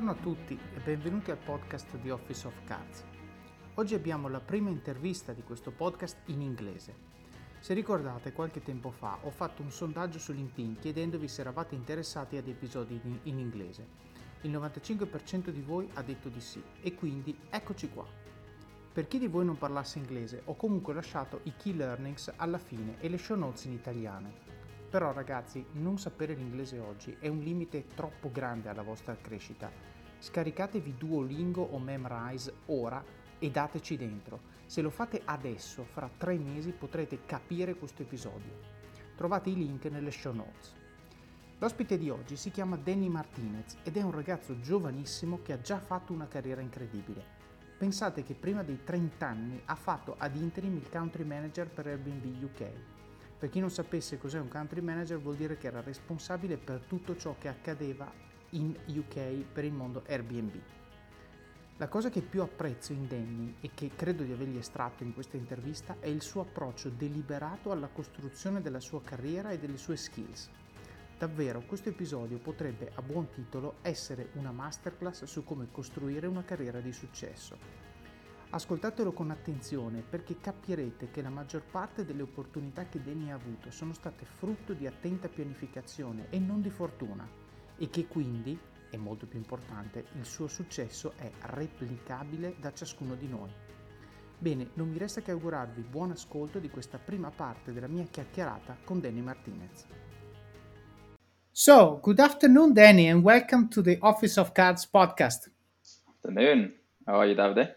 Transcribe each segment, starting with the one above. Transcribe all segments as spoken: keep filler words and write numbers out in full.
Buongiorno a tutti e benvenuti al podcast di Office of Cards. Oggi abbiamo la prima intervista di questo podcast in inglese. Se ricordate, qualche tempo fa ho fatto un sondaggio su LinkedIn chiedendovi se eravate interessati ad episodi in, in inglese. Il novantacinque per cento di voi ha detto di sì e quindi eccoci qua. Per chi di voi non parlasse inglese, ho comunque lasciato i key learnings alla fine e le show notes in italiano. Però ragazzi, non sapere l'inglese oggi è un limite troppo grande alla vostra crescita. Scaricatevi Duolingo o Memrise ora e dateci dentro. Se lo fate adesso, fra tre mesi potrete capire questo episodio. Trovate i link nelle show notes. L'ospite di oggi si chiama Danny Martinez ed è un ragazzo giovanissimo che ha già fatto una carriera incredibile. Pensate che prima dei trenta anni ha fatto ad interim il country manager per Airbnb U K. Per chi non sapesse cos'è un country manager, vuol dire che era responsabile per tutto ciò che accadeva in U K per il mondo Airbnb. La cosa che più apprezzo in Danny e che credo di avergli estratto in questa intervista è il suo approccio deliberato alla costruzione della sua carriera e delle sue skills. Davvero, questo episodio potrebbe a buon titolo essere una masterclass su come costruire una carriera di successo. Ascoltatelo con attenzione perché capirete che la maggior parte delle opportunità che Danny ha avuto sono state frutto di attenta pianificazione e non di fortuna e che quindi, è molto più importante, il suo successo è replicabile da ciascuno di noi. Bene, non mi resta che augurarvi buon ascolto di questa prima parte della mia chiacchierata con Danny Martinez. So, good afternoon Danny and welcome to the Office of Cards podcast. Afternoon. How are you, Davide?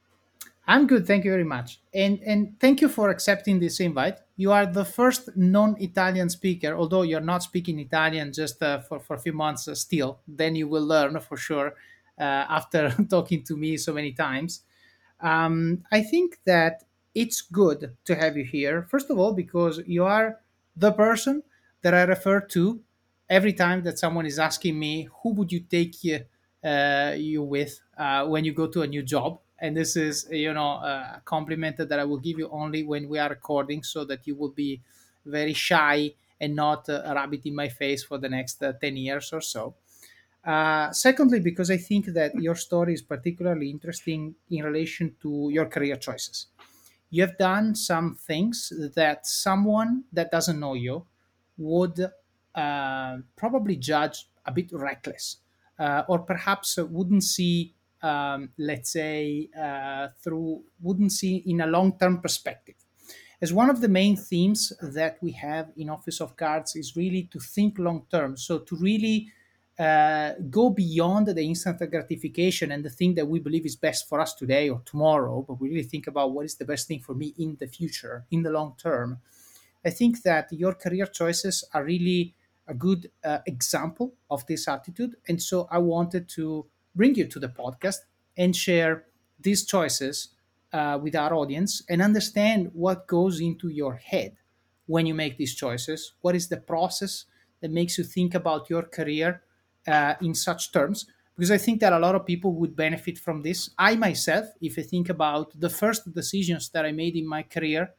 I'm good, thank you very much. And and thank you for accepting this invite. You are the first non-Italian speaker, although you're not speaking Italian just uh, for, for a few months uh, still. Then you will learn for sure uh, after talking to me so many times. Um, I think that it's good to have you here, first of all, because you are the person that I refer to every time that someone is asking me, who would you take you, uh, you with uh, when you go to a new job? And this is, you know, a compliment that I will give you only when we are recording so that you will be very shy and not uh, a rabbit in my face for the next uh, ten years or so. Uh, secondly, because I think that your story is particularly interesting in relation to your career choices. You have done some things that someone that doesn't know you would uh, probably judge a bit reckless, uh, or perhaps wouldn't see, um, let's say, uh, through, wouldn't see in a long term perspective. As one of the main themes that we have in Office of Cards is really to think long term. So to really uh, go beyond the instant gratification and the thing that we believe is best for us today or tomorrow, but we really think about what is the best thing for me in the future, in the long term. I think that your career choices are really a good uh, example of this attitude. And so I wanted to bring you to the podcast and share these choices uh, with our audience and understand what goes into your head when you make these choices. What is the process that makes you think about your career uh, in such terms? Because I think that a lot of people would benefit from this. I myself, if I think about the first decisions that I made in my career,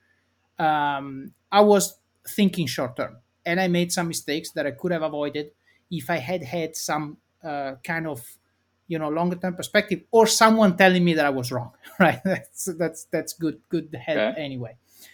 um, I was thinking short term and I made some mistakes that I could have avoided if I had had some uh, kind of you know longer term perspective or someone telling me that I was wrong. Right? That's that's that's good good help Okay. anyway.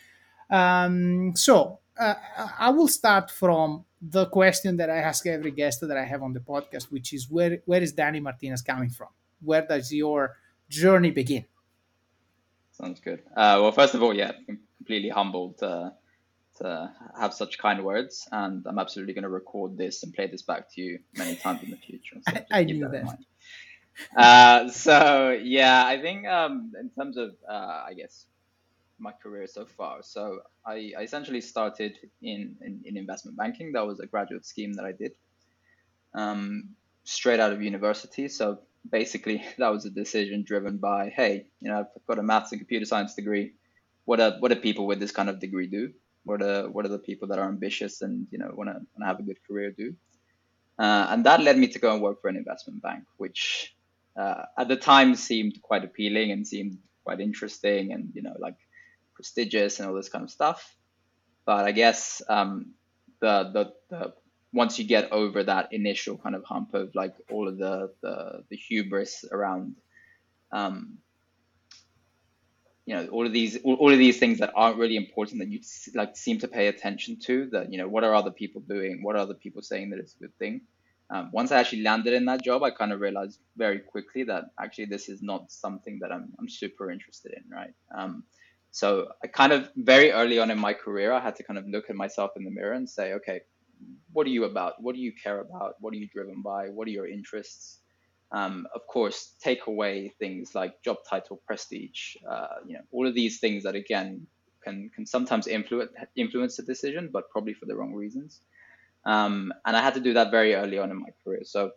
Um, so uh, I will start from the question that I ask every guest that I have on the podcast, which is where where is Danny Martinez coming from? Where does your journey begin? Sounds good. Uh, well, first of all, yeah, I'm completely humbled to, to have such kind words, and I'm absolutely going to record this and play this back to you many times in the future. So I, just I keep knew that in that. mind. Uh, so yeah, I think um, in terms of uh, I guess my career so far. So I, I essentially started in, in in investment banking. That was a graduate scheme that I did. Um, straight out of university. So basically, that was a decision driven by, hey, you know, I've got a maths and computer science degree. What are what do people with this kind of degree do? What are what are the people that are ambitious and you know want to want to have a good career do? Uh, and that led me to go and work for an investment bank, which uh, at the time seemed quite appealing and seemed quite interesting and you know like prestigious and all this kind of stuff. But I guess um, the, the the once you get over that initial kind of hump of like all of the the, the hubris around um, you know all of these all, all of these things that aren't really important that you like seem to pay attention to, that you know what are other people doing, what are other people saying that it's a good thing. Um, once I actually landed in that job, I kind of realized very quickly that actually this is not something that i'm, I'm super interested in, right? um, so I kind of very early on in my career, I had to kind of look at myself in the mirror and say, okay, what are you about? What do you care about? What are you driven by? What are your interests? Um, of course, take away things like job title, prestige, uh, you know, all of these things that again can can sometimes influence influence the decision, but probably for the wrong reasons. Um, and I had to do that very early on in my career. So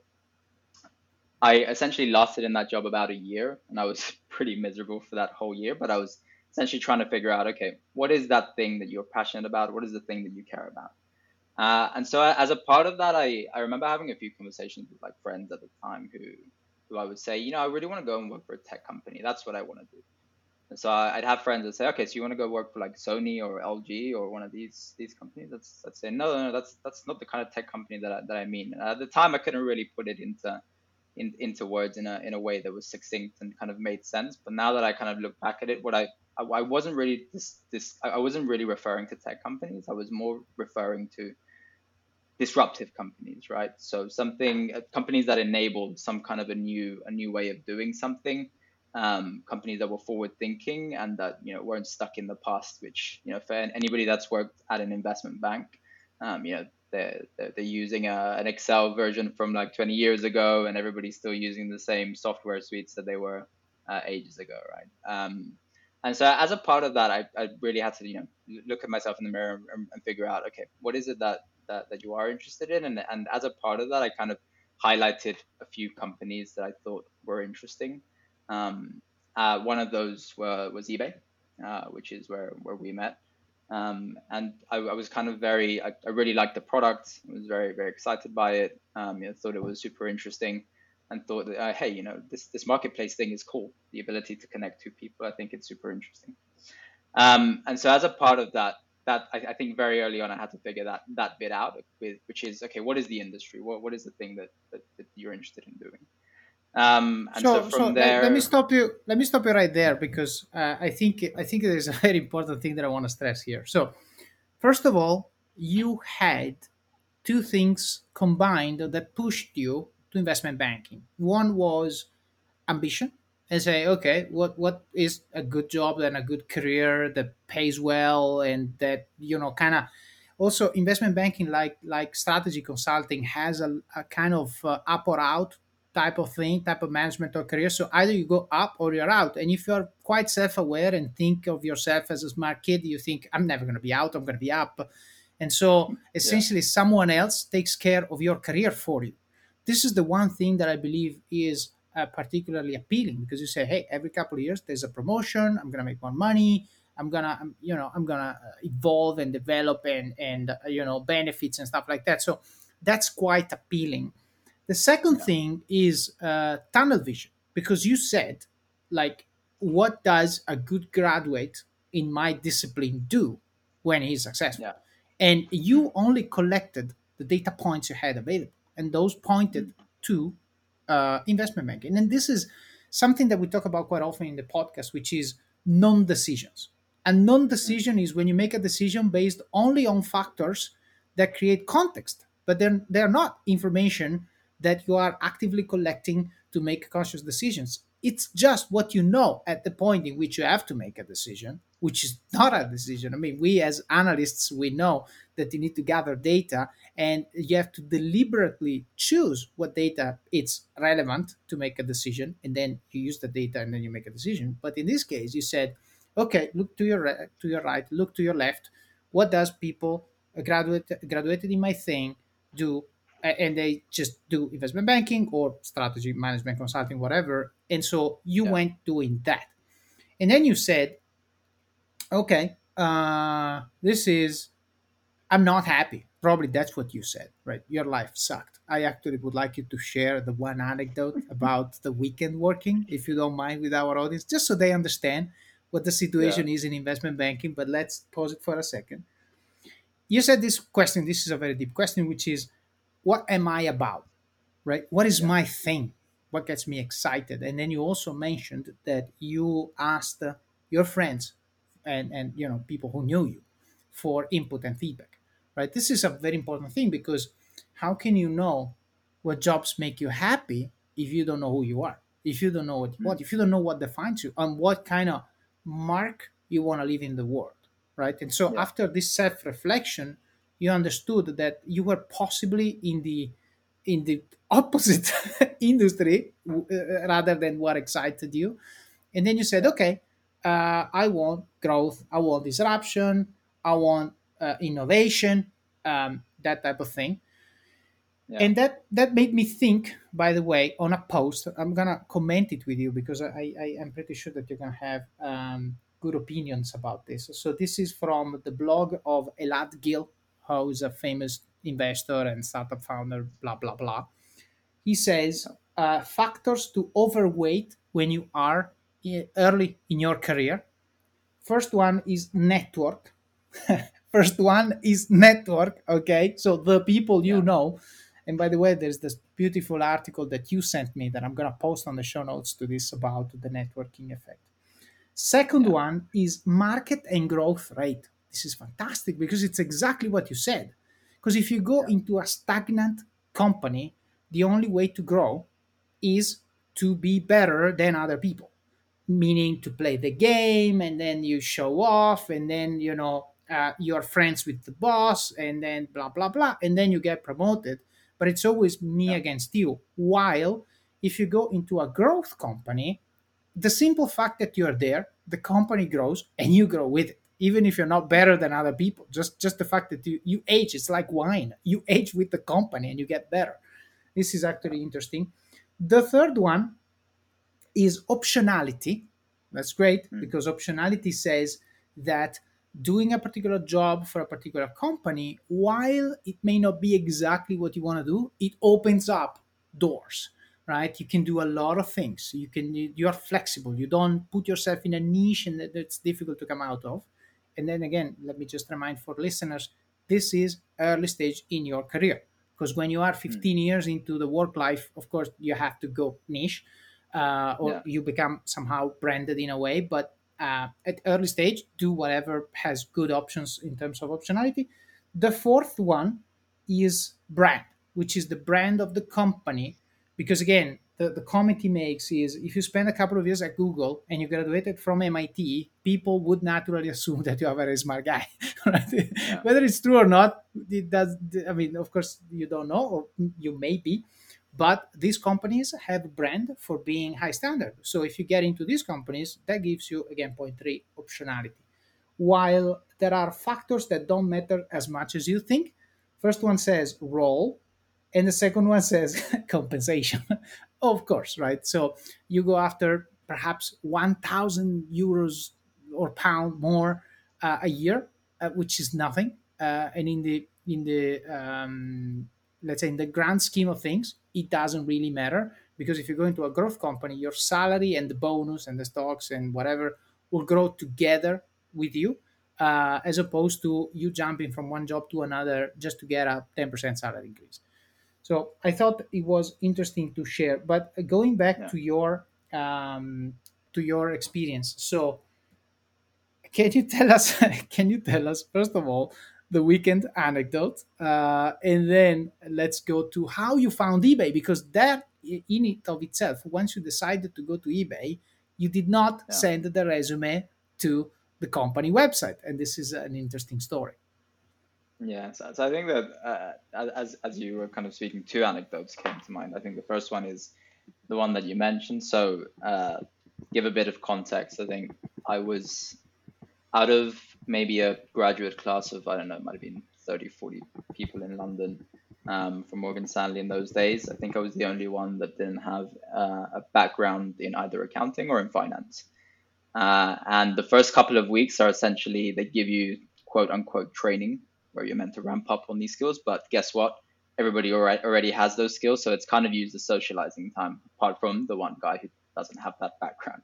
I essentially lasted in that job about a year, and I was pretty miserable for that whole year. But I was essentially trying to figure out, okay, what is that thing that you're passionate about? What is the thing that you care about? Uh, and so as a part of that, I, I remember having a few conversations with like friends at the time who who I would say, you know, I really want to go and work for a tech company. That's what I want to do. And so I- I'd have friends that say, okay, so you want to go work for like Sony or L G or one of these these companies? That's I'd say, no, no, no, that's that's not the kind of tech company that I, that I mean. And at the time, I couldn't really put it into in, into words in a in a way that was succinct and kind of made sense. But now that I kind of look back at it, what I I, I wasn't really this this I wasn't really referring to tech companies. I was more referring to disruptive companies, right? So something uh, companies that enabled some kind of a new a new way of doing something, um, companies that were forward thinking and that you know weren't stuck in the past. Which you know for anybody that's worked at an investment bank, um, you know they're they're, they're using a, an Excel version from like twenty years ago, and everybody's still using the same software suites that they were uh, ages ago, right? Um, and so as a part of that, I, I really had to you know look at myself in the mirror and, and figure out, okay, what is it that that, that you are interested in. And, and as a part of that, I kind of highlighted a few companies that I thought were interesting. Um, uh, one of those were, was eBay, uh, which is where, where we met. Um, and I, I was kind of very, I, I really liked the product. I was very, very excited by it. Um, you know, thought it was super interesting and thought that, uh, hey, you know, this, this marketplace thing is cool. The ability to connect two people, I think it's super interesting. Um, and so as a part of that, that I, I think very early on I had to figure that that bit out, with, which is okay, what is the industry? What what is the thing that that, that you're interested in doing? Um, and so So, so from let, let me there, stop you. Let me stop you right there because uh, I think I think there is a very important thing that I want to stress here. So, first of all, you had two things combined that pushed you to investment banking. One was ambition and say, okay, what what is a good job and a good career that pays well and that you know kind of also investment banking like like strategy consulting has a, a kind of uh, up or out type of thing, type of management or career. So either you go up or you're out. And if you're quite self-aware and think of yourself as a smart kid, you think, I'm never going to be out, I'm going to be up. And so yeah, essentially someone else takes care of your career for you. This is the one thing that I believe is uh, particularly appealing, because you say, hey, every couple of years there's a promotion, I'm going to make more money, I'm gonna I'm, you know I'm gonna uh, evolve and develop and and uh, you know benefits and stuff like that. So that's quite appealing. The second yeah, thing is uh, tunnel vision, because you said, like, what does a good graduate in my discipline do when he's successful? yeah, And you only collected the data points you had available, and those pointed mm, to uh, investment banking. And this is something that we talk about quite often in the podcast, which is non-decisions. And mm, non-decision is when you make a decision based only on factors that create context, but then they're not information that you are actively collecting to make conscious decisions. It's just what you know at the point in which you have to make a decision, which is not a yeah, decision. I mean, we as analysts, we know that you need to gather data and you have to deliberately choose what data it's relevant to make a decision, and then you use the data and then you make a decision. But in this case, you said, okay, look to your re- to your right, look to your left. What does people uh, graduate graduated in my thing do? A- and they just do investment banking or strategy management consulting, whatever. And so you yeah, went doing that, and then you said, okay, uh, this is, I'm not happy. Probably that's what you said, right? Your life sucked. I actually would like you to share the one anecdote about the weekend working, if you don't mind, with our audience, just so they understand what the yeah, situation is in investment banking. But let's pause it for a second. You said this question, this is a very deep question, which is, what am I about, right? What is Yeah. my thing? What gets me excited? And then you also mentioned that you asked uh, your friends and and you know people who knew you for input and feedback, right? This is a very important thing because how can you know what jobs make you happy if you don't know who you are, if you don't know what you Mm. want, if you don't know what defines you and what kind of mark you want to leave in the world, right? And so Yeah. after this self-reflection, you understood that you were possibly in the in the opposite industry uh, rather than what excited you. And then you said, Yeah. okay, uh, I want growth, I want disruption, I want uh, innovation, um, that type of thing. Yeah. And that that made me think, by the way, on a post. I'm gonna comment it with you because I, I am pretty sure that you're gonna have um, good opinions about this. So this is from the blog of Elad Gil, who is a famous investor and startup founder, blah blah blah. He says Yeah. uh, factors to overweight when you are i- early in your career. First one is network. First one is network. Okay, so the people you Yeah. know. And by the way, there's this beautiful article that you sent me that I'm gonna post on the show notes to this about the networking effect. Second Yeah. one is market and growth rate. This is fantastic because it's exactly what you said. Because if you go Yeah. into a stagnant company, the only way to grow is to be better than other people, meaning to play the game and then you show off and then you know uh, you're friends with the boss and then blah blah blah and then you get promoted, but it's always me Yeah. against you. While if you go into a growth company, the simple fact that you're there, the company grows and you grow with it, even if you're not better than other people. Just just the fact that you you age, it's like wine, you age with the company and you get better. This is Yeah. actually interesting. The third one is optionality. That's great Mm. because optionality says that doing a particular job for a particular company, while it may not be exactly what you want to do, it opens up doors, right? You can do a lot of things. You can you are flexible. You don't put yourself in a niche and that that's difficult to come out of. And then again, let me just remind for listeners, this is early stage in your career because when you are Mm. fifteen years into the work life, of course, you have to go niche uh, or Yeah. you become somehow branded in a way. But uh, at early stage, do whatever has good options in terms of optionality. The fourth one is brand, which is the brand of the company. Because again, the, the comment he makes is if you spend a couple of years at Google and you graduated from M I T, people would naturally assume that you are a very smart guy. Right? Yeah. Whether it's true or not, it does. I mean, of course, you don't know, or you may be, but these companies have a brand for being high standard. So if you get into these companies, that gives you again point three optionality. While there are factors that don't matter as much as you think. First one says role, and the second one says compensation. Of course, right? So you go after perhaps one thousand euros or pound more uh, a year, uh, which is nothing. Uh, and in the in the um, let's say in the grand scheme of things, it doesn't really matter because if you go into a growth company, your salary and the bonus and the stocks and whatever will grow together with you, uh, as opposed to you jumping from one job to another just to get a ten percent salary increase. So I thought it was interesting to share. But going back Yeah. to your um, to your experience, so can you tell us? Can you tell us first of all the weekend anecdote, uh, and then let's go to how you found eBay because that i- in it of itself, once you decided to go to eBay, you did not Yeah. send the resume to the company website, and this is an interesting story. Yeah, so, so I think that uh, as as you were kind of speaking, two anecdotes came to mind. I think the first one is the one that you mentioned. So, uh, give a bit of context. I think I was out of maybe a graduate class of, I don't know, it might have been thirty, forty people in London um, from Morgan Stanley in those days. I think I was the only one that didn't have uh, a background in either accounting or in finance. Uh, and the first couple of weeks are essentially they give you quote unquote training where you're meant to ramp up on these skills. But guess what? Everybody already already has those skills, so it's kind of used as socializing time. Apart from the one guy who doesn't have that background.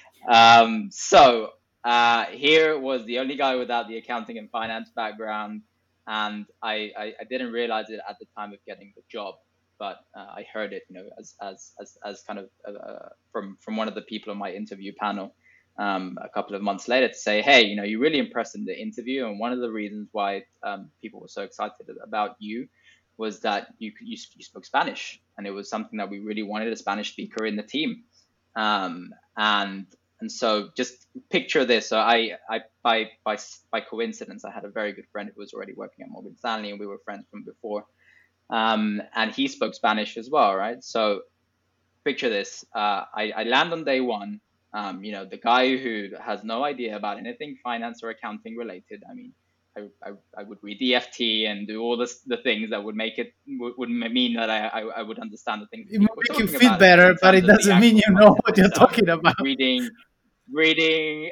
Um, so uh, here was the only guy without the accounting and finance background. and I, I, I didn't realize it at the time of getting the job, but uh, I heard it, you know, as as as, as kind of uh, from from one of the people on my interview panel um, a couple of months later to say, hey, you know, you really impressed in the interview, and one of the reasons why um, people were so excited about you was that you, you you spoke Spanish, and it was something that we really wanted a Spanish speaker in the team, um, and and so just picture this. So I, I by by by coincidence, I had a very good friend who was already working at Morgan Stanley, and we were friends from before. Um, and he spoke Spanish as well, right? So picture this. Uh, I, I land on day one. Um, you know, the guy who has no idea about anything finance or accounting related. I mean, I, I, I would read the F T and do all this, the things that would make it would, would mean that I, I, I would understand the things that It will people were make you talking feel about. And then better, in but terms it of the doesn't mean you actual know content what you're itself, talking about. reading, reading,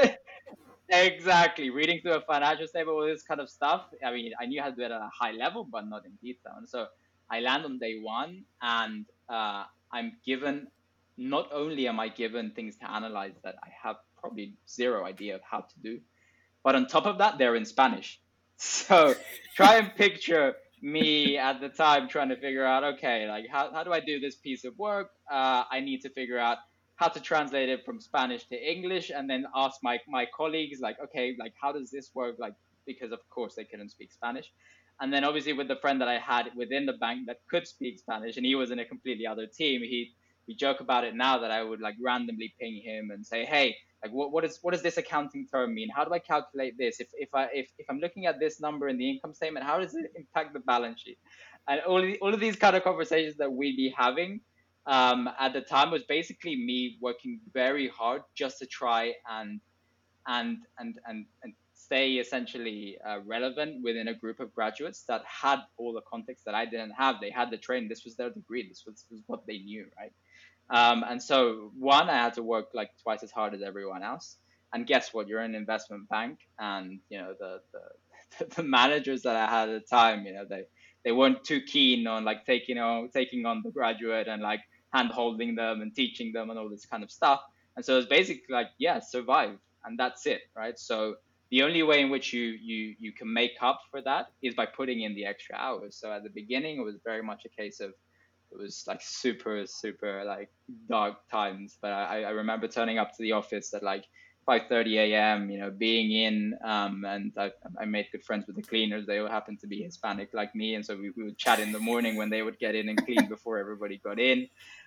exactly, reading through a financial statement, all this kind of stuff. I mean, I knew how to do it at a high level, but not in detail. And so I land on day one, and uh, I'm given, not only am I given things to analyze that I have probably zero idea of how to do, but on top of that, they're in Spanish. So try and picture me at the time trying to figure out, okay, like how, how do I do this piece of work? Uh, I need to figure out how to translate it from Spanish to English, and then ask my, my colleagues, like, okay, like how does this work? Like, because of course they couldn't speak Spanish. And then obviously with the friend that I had within the bank that could speak Spanish, and he was in a completely other team, he we joke about it now that I would like randomly ping him and say, hey, like what, what is what does this accounting term mean? How do I calculate this? If if I if, if I'm looking at this number in the income statement, how does it impact the balance sheet? And all of, the, all of these kind of conversations that we'd be having um, at the time was basically me working very hard just to try and and and and and stay essentially uh, relevant within a group of graduates that had all the context that I didn't have. They had the training. This was their degree. This was, was what they knew, right? Um, and so, one, I had to work like twice as hard as everyone else. And guess what? You're in an investment bank, and you know the the, the managers that I had at the time, you know, they they weren't too keen on like taking on taking on the graduate and like hand holding them and teaching them and all this kind of stuff. And so it's basically like, yeah, survive, and that's it, right? So the only way in which you you you can make up for that is by putting in the extra hours. So at the beginning, it was very much a case of it was like super super like dark times, but i, I remember turning up to the office at like five thirty a.m, you know, being in um, and I, I made good friends with the cleaners. They all happened to be Hispanic like me, and so we, we would chat in the morning when they would get in and clean before everybody got in.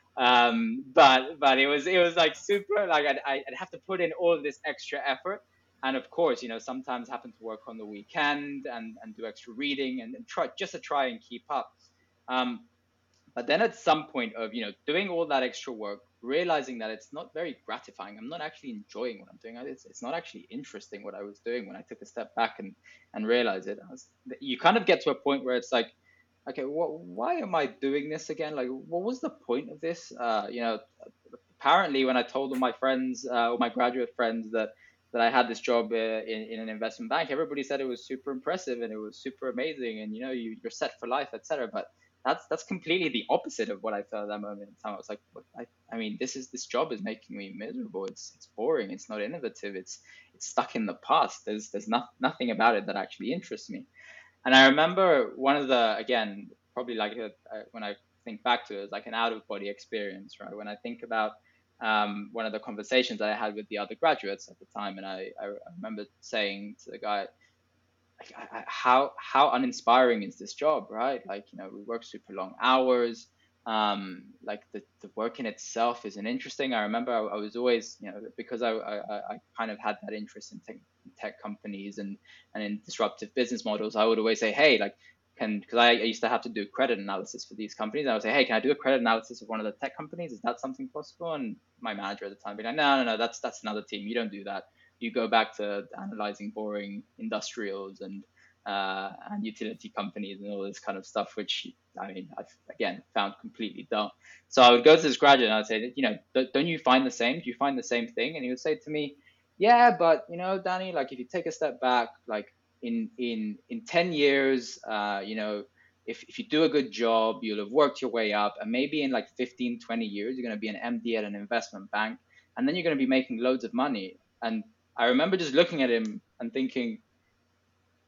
Um, but but it was it was like super like I'd, I'd have to put in all of this extra effort, and of course, you know, sometimes happen to work on the weekend and and do extra reading and, and try just to try and keep up. um, but then at some point of, you know, doing all that extra work, realizing that it's not very gratifying. I'm not actually enjoying what I'm doing. It's, it's not actually interesting what I was doing. When I took a step back and, and realized it, I was, you kind of get to a point where it's like, okay, what, why am I doing this again? Like, what was the point of this? Uh, you know, apparently when I told all my friends, uh, all my graduate friends that, that I had this job uh, in, in an investment bank, everybody said it was super impressive and it was super amazing. And, you know, you, you're set for life, et cetera. But that's that's completely the opposite of what I felt at that moment in time. I was like, what, I, I mean, this is this job is making me miserable. It's it's boring. It's not innovative. It's it's stuck in the past. There's there's not, nothing about it that actually interests me. And I remember one of the, again, probably like a, uh, when I think back to it, it's like an out of body experience, right? When I think about um, one of the conversations that I had with the other graduates at the time, and I, I remember saying to the guy, like, I, I, how how uninspiring is this job, right? Like, you know, we work super long hours. Um, like the, the work in itself isn't interesting. I remember I, I was always, you know, because I, I, I kind of had that interest in tech, tech companies and, and in disruptive business models. I would always say, hey, like, can, because I, I used to have to do credit analysis for these companies. I would say, hey, can I do a credit analysis of one of the tech companies? Is that something possible? And my manager at the time would be like, no, no, no, that's that's another team. You don't do that. You go back to analyzing boring industrials and uh, and utility companies and all this kind of stuff, which I mean, I've again found completely dumb. So I would go to this graduate and I'd say, you know, don't you find the same? Do you find the same thing? And he would say to me, yeah, but you know, Danny, like if you take a step back, like in in in ten years, uh, you know, if, if you do a good job, you'll have worked your way up, and maybe in like fifteen, twenty years, you're going to be an M D at an investment bank, and then you're going to be making loads of money. And I remember just looking at him and thinking,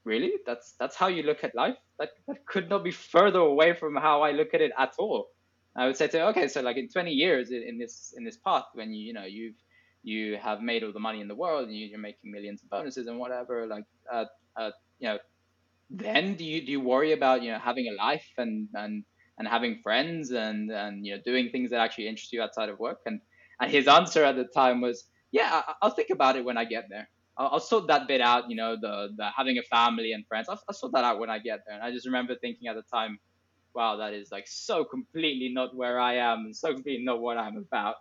really? That's that's how you look at life? That that could not be further away from how I look at it at all. I would say to her, okay, so like in twenty years in, in this in this path, when you you know you've you have made all the money in the world and you, you're making millions of bonuses and whatever, like uh, uh, you know, then do you do you worry about you know having a life and and and having friends and and you know doing things that actually interest you outside of work? And and his answer at the time was, yeah, I, I'll think about it when I get there. I'll, I'll sort that bit out, you know, the the having a family and friends. I'll, I'll sort that out when I get there. And I just remember thinking at the time, wow, that is like so completely not where I am and so completely not what I'm about.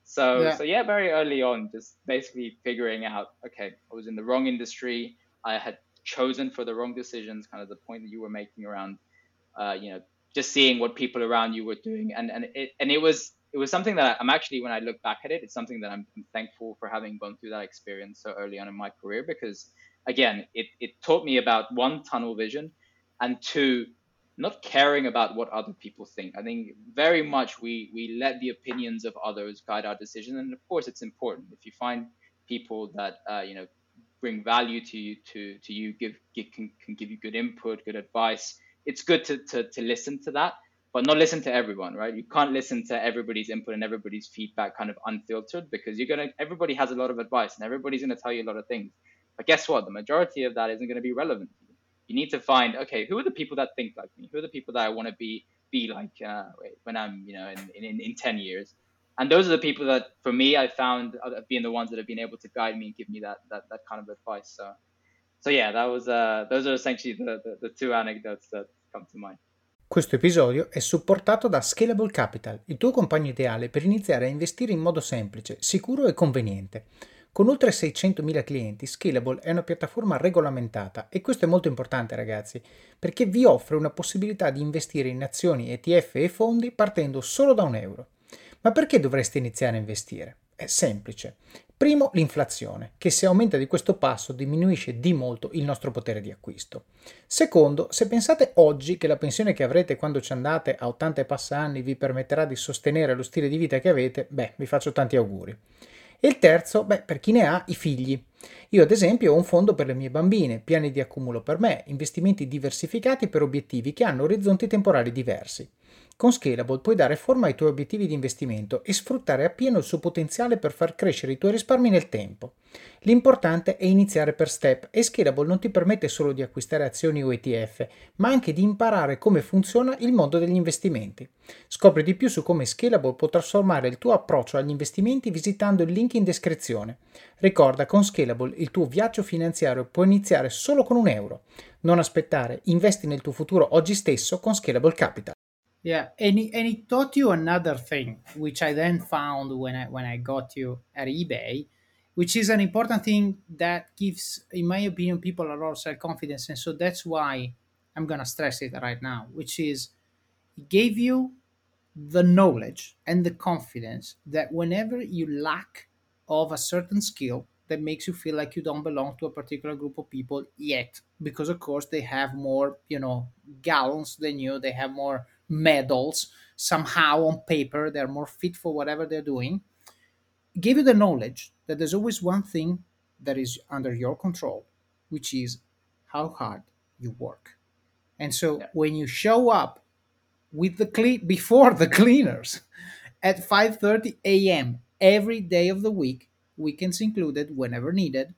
So Yeah. so yeah, very early on, just basically figuring out, okay, I was in the wrong industry. I had chosen for the wrong decisions, kind of the point that you were making around, uh, you know, just seeing what people around you were doing, and and it and it was it was something that I'm actually, when I look back at it, it's something that I'm, I'm thankful for having gone through that experience so early on in my career, because again, it it taught me about one, tunnel vision, and two, not caring about what other people think. I think very much we we let the opinions of others guide our decision, and of course it's important if you find people that uh, you know bring value to you to to you give, give can, can give you good input, good advice. It's good to, to to listen to that, but not listen to everyone, right? You can't listen to everybody's input and everybody's feedback kind of unfiltered, because you're gonna everybody has a lot of advice and everybody's gonna tell you a lot of things. But guess what? The majority of that isn't gonna be relevant to you. You need to find, okay, who are the people that think like me? Who are the people that I want to be be like uh, when I'm you know in, in in ten years? And those are the people that, for me, I found uh, being the ones that have been able to guide me and give me that that that kind of advice. So so yeah, that was uh those are essentially the the, the two anecdotes that come to mind. Questo episodio è supportato da Scalable Capital, il tuo compagno ideale per iniziare a investire in modo semplice, sicuro e conveniente. Con oltre seicentomila clienti, Scalable è una piattaforma regolamentata e questo è molto importante, ragazzi, perché vi offre una possibilità di investire in azioni, E T F e fondi partendo solo da un euro. Ma perché dovreste iniziare a investire? È semplice. Primo, l'inflazione, che se aumenta di questo passo diminuisce di molto il nostro potere di acquisto. Secondo, se pensate oggi che la pensione che avrete quando ci andate a ottanta e passa anni vi permetterà di sostenere lo stile di vita che avete, beh, vi faccio tanti auguri. E il terzo, beh, per chi ne ha, i figli. Io ad esempio ho un fondo per le mie bambine, piani di accumulo per me, investimenti diversificati per obiettivi che hanno orizzonti temporali diversi. Con Scalable puoi dare forma ai tuoi obiettivi di investimento e sfruttare appieno il suo potenziale per far crescere i tuoi risparmi nel tempo. L'importante è iniziare per step e Scalable non ti permette solo di acquistare azioni o E T F, ma anche di imparare come funziona il mondo degli investimenti. Scopri di più su come Scalable può trasformare il tuo approccio agli investimenti visitando il link in descrizione. Ricorda, con Scalable il tuo viaggio finanziario può iniziare solo con un euro. Non aspettare, investi nel tuo futuro oggi stesso con Scalable Capital. Yeah, and it, and it taught you another thing, which I then found when I when I got you at eBay, which is an important thing that gives, in my opinion, people a lot of self confidence, and so that's why I'm gonna stress it right now, which is it gave you the knowledge and the confidence that whenever you lack of a certain skill that makes you feel like you don't belong to a particular group of people yet, because of course they have more, you know, gallons than you, they have more medals somehow on paper, they're more fit for whatever they're doing. Give you the knowledge that there's always one thing that is under your control, which is how hard you work. And so Yeah, when you show up with the clean before the cleaners at five thirty a m every day of the week, weekends included, whenever needed,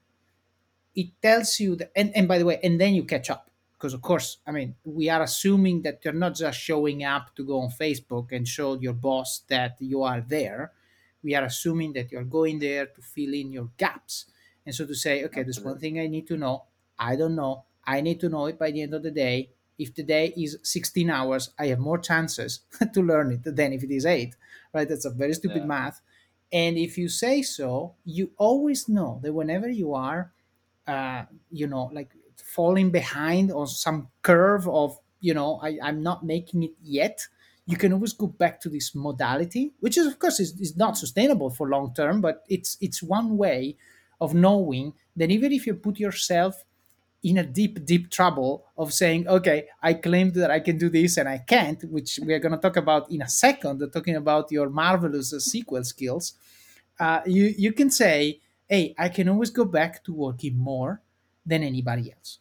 it tells you that, and, and by the way, and then you catch up. Because of course, I mean, we are assuming that you're not just showing up to go on Facebook and show your boss that you are there. We are assuming that you're going there to fill in your gaps. And so to say, okay, there's one absolutely. thing I need to know. I don't know. I need to know it by the end of the day. If the day is sixteen hours, I have more chances to learn it than if it is eight, right? That's a very stupid Yeah, math. And if you say so, you always know that whenever you are uh, you know, like falling behind on some curve of, you know, I, I'm not making it yet, you can always go back to this modality, which is of course is, is not mm, sustainable for long term, but it's it's one way of knowing that even if you put yourself in a deep, deep trouble of saying, okay, I claimed that I can do this and I can't, which we are going to talk about in a second, talking about your marvelous uh, S Q L skills, uh, you, you can say, hey, I can always go back to working more than anybody else.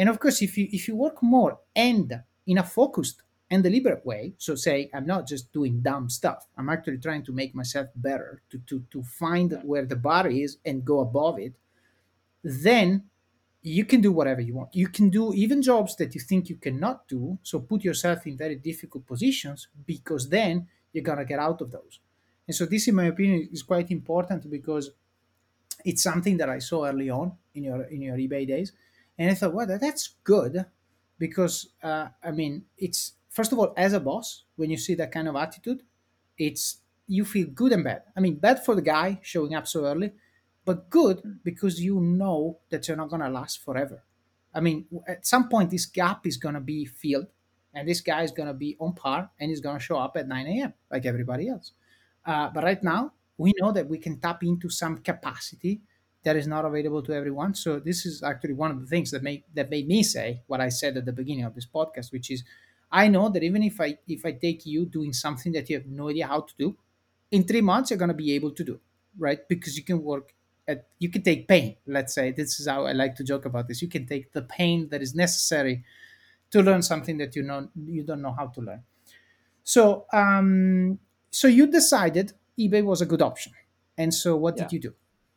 And of course, if you if you work more and in a focused and deliberate way, so say I'm not just doing dumb stuff, I'm actually trying to make myself better, to to to find Yeah. where the bar is and go above it, then you can do whatever you want. You can do even jobs that you think you cannot do. So put yourself in very difficult positions, because then you're gonna get out of those. And so this, in my opinion, is quite important, because it's something that I saw early on in your in your eBay days, and I thought, well, that, that's good, because uh, I mean, it's first of all, as a boss, when you see that kind of attitude, it's you feel good and bad. I mean, bad for the guy showing up so early, but good Mm. because you know that you're not gonna last forever. I mean, at some point, this gap is gonna be filled, and this guy is gonna be on par, and he's gonna show up at nine a m like everybody else. Uh, but right now, we know that we can tap into some capacity that is not available to everyone. So this is actually one of the things that make that made me say what I said at the beginning of this podcast, which is, I know that even if I if I take you doing something that you have no idea how to do, in three months you're gonna be able to do, right? Because you can work at you can take pain. Let's say this is how I like to joke about this. You can take the pain that is necessary to learn something that you know you don't know how to learn. So, um, so you decided eBay was a good option, and so what Yeah. did you do?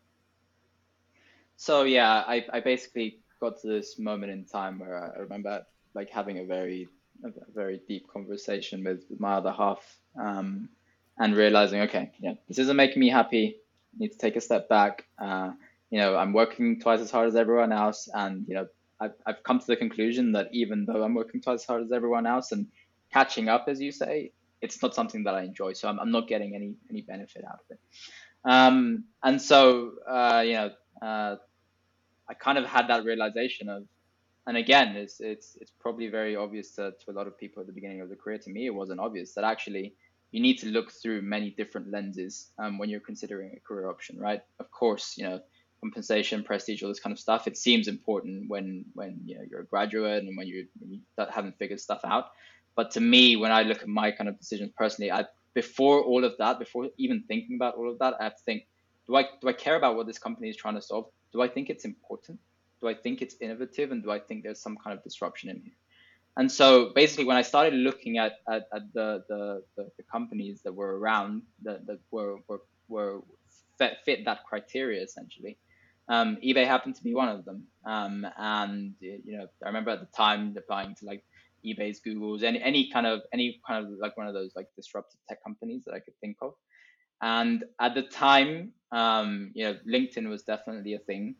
So yeah, I, I basically got to this moment in time where I, I remember like having a very a very deep conversation with, with my other half, um, and realizing, okay, yeah, this isn't making me happy. I need to take a step back. Uh, you know, I'm working twice as hard as everyone else, and you know, I've I've come to the conclusion that even though I'm working twice as hard as everyone else and catching up, as you say, it's not something that I enjoy. So I'm I'm not getting any any benefit out of it. Um, and so uh, you know. Uh, I kind of had that realization of, and again, it's it's it's probably very obvious to, to a lot of people at the beginning of the career. To me, it wasn't obvious that actually you need to look through many different lenses um, when you're considering a career option, right? Of course, you know, compensation, prestige, all this kind of stuff. It seems important when when you know you're a graduate and when you when you haven't figured stuff out. But to me, when I look at my kind of decisions personally, I before all of that, before even thinking about all of that, I have to think: do I do I care about what this company is trying to solve? Do I think it's important? Do I think it's innovative, and do I think there's some kind of disruption in here? And so basically, when I started looking at at, at the, the, the the companies that were around that, that were were were fit, fit that criteria essentially, um, eBay happened to be one of them. Um, and you know, I remember at the time applying to like eBay's, Google's, any any kind of any kind of like one of those like disruptive tech companies that I could think of. And at the time, um, you know, LinkedIn was definitely a thing.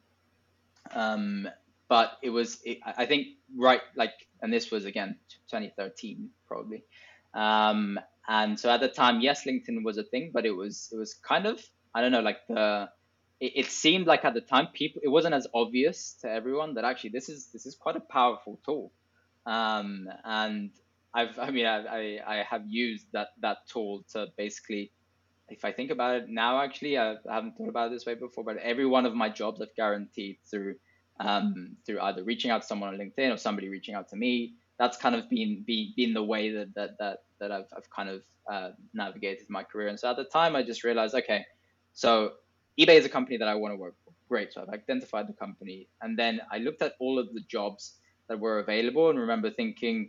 Um, but it was, it, I think, right, like, and this was again twenty thirteen probably. Um, and so at the time, yes, LinkedIn was a thing, but it was, it was kind of, I don't know, like the, it, it seemed like at the time, people, it wasn't as obvious to everyone that actually this is, this is quite a powerful tool. Um, and I've, I mean, I, I, I have used that, that tool to basically, if I think about it now, actually, I, I haven't thought about it this way before, but every one of my jobs I've guaranteed through um, through either reaching out to someone on LinkedIn or somebody reaching out to me. That's kind of been be, been the way that that that that I've I've kind of uh, navigated my career. And so at the time, I just realized, okay, so eBay is a company that I want to work for. Great. So I've identified the company, and then I looked at all of the jobs that were available, and remember thinking,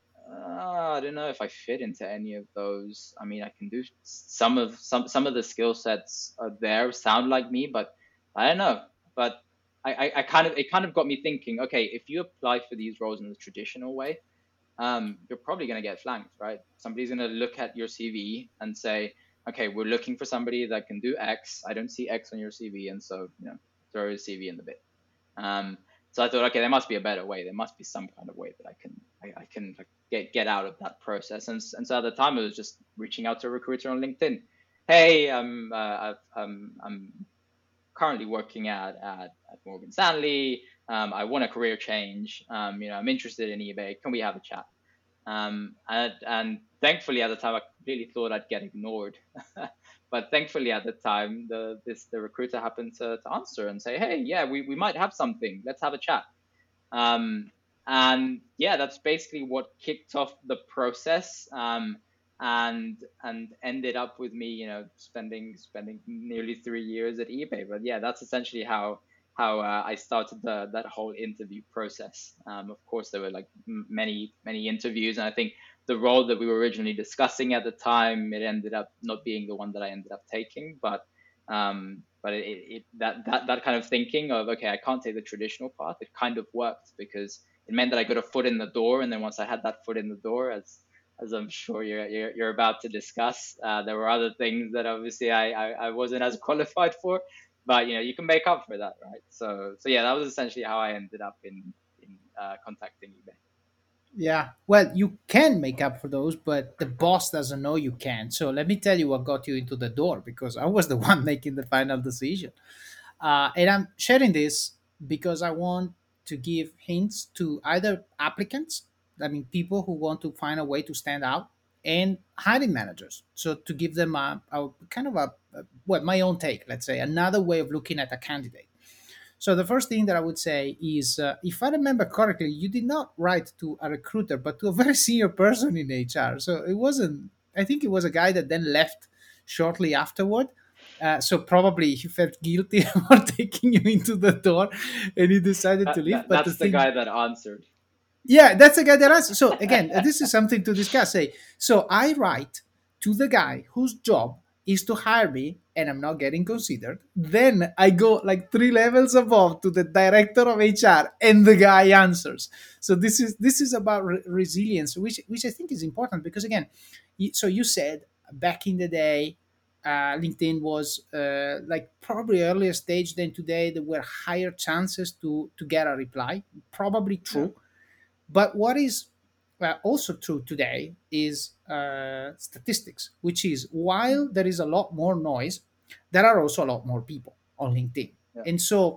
uh, I don't know if I fit into any of those. I mean, I can do some of some some of the skill sets are there, sound like me, but I don't know. But I, I, I kind of it kind of got me thinking. Okay, if you apply for these roles in the traditional way, um, you're probably going to get flanked, right? Somebody's going to look at your C V and say, okay, we're looking for somebody that can do X. I don't see X on your C V, and so you know, throw your C V in the bin. Um, so I thought, okay, there must be a better way. There must be some kind of way that I can I, I can like, get get out of that process. And and so at the time, it was just reaching out to a recruiter on LinkedIn. Hey, I'm uh, I've, um, I'm currently working at at, at Morgan Stanley. Um, I want a career change. Um, you know, I'm interested in eBay. Can we have a chat? Um, and, and thankfully at the time I completely thought I'd get ignored, but thankfully at the time the this the recruiter happened to, to answer and say, hey, yeah, we, we might have something. Let's have a chat. Um, and yeah, that's basically what kicked off the process. Um, and and ended up with me, you know, spending spending nearly three years at eBay. But yeah, that's essentially how how uh, I started the, that whole interview process. Um, of course, there were like m- many many interviews, and I think the role that we were originally discussing at the time, it ended up not being the one that I ended up taking, but um, but it, it, that that that kind of thinking of, okay, I can't take the traditional path, it kind of worked because it meant that I got a foot in the door, and then once I had that foot in the door, as as I'm sure you're you're, you're about to discuss, uh, there were other things that obviously I, I I wasn't as qualified for, but you know you can make up for that, right? So so yeah, that was essentially how I ended up in in uh, contacting eBay. Yeah. Well, you can make up for those, but the boss doesn't know you can. So let me tell you what got you into the door, because I was the one making the final decision. Uh, and I'm sharing this because I want to give hints to either applicants, I mean, people who want to find a way to stand out, and hiring managers. So to give them a, a kind of a, a, well, my own take, let's say, another way of looking at a candidate. So the first thing that I would say is, uh, if I remember correctly, you did not write to a recruiter, but to a very senior person in H R. So it wasn't. I think it was a guy that then left shortly afterward. Uh, so probably he felt guilty for taking you into the door, and he decided to That, leave. that But the that's the thing, guy that answered. yeah, that's the guy that answers. So again, uh, this is something to discuss. Say, so I write to the guy whose job is to hire me, and I'm not getting considered. Then I go like three levels above to the director of H R, and the guy answers. So this is this is about re- resilience, which which I think is important because again, y- so you said back in the day. Uh, LinkedIn was uh, like probably earlier stage than today. There were higher chances to to get a reply. Probably Yeah. true, but what is uh, also true today is uh, statistics, which is while there is a lot more noise, there are also a lot more people on LinkedIn. Yeah. And so,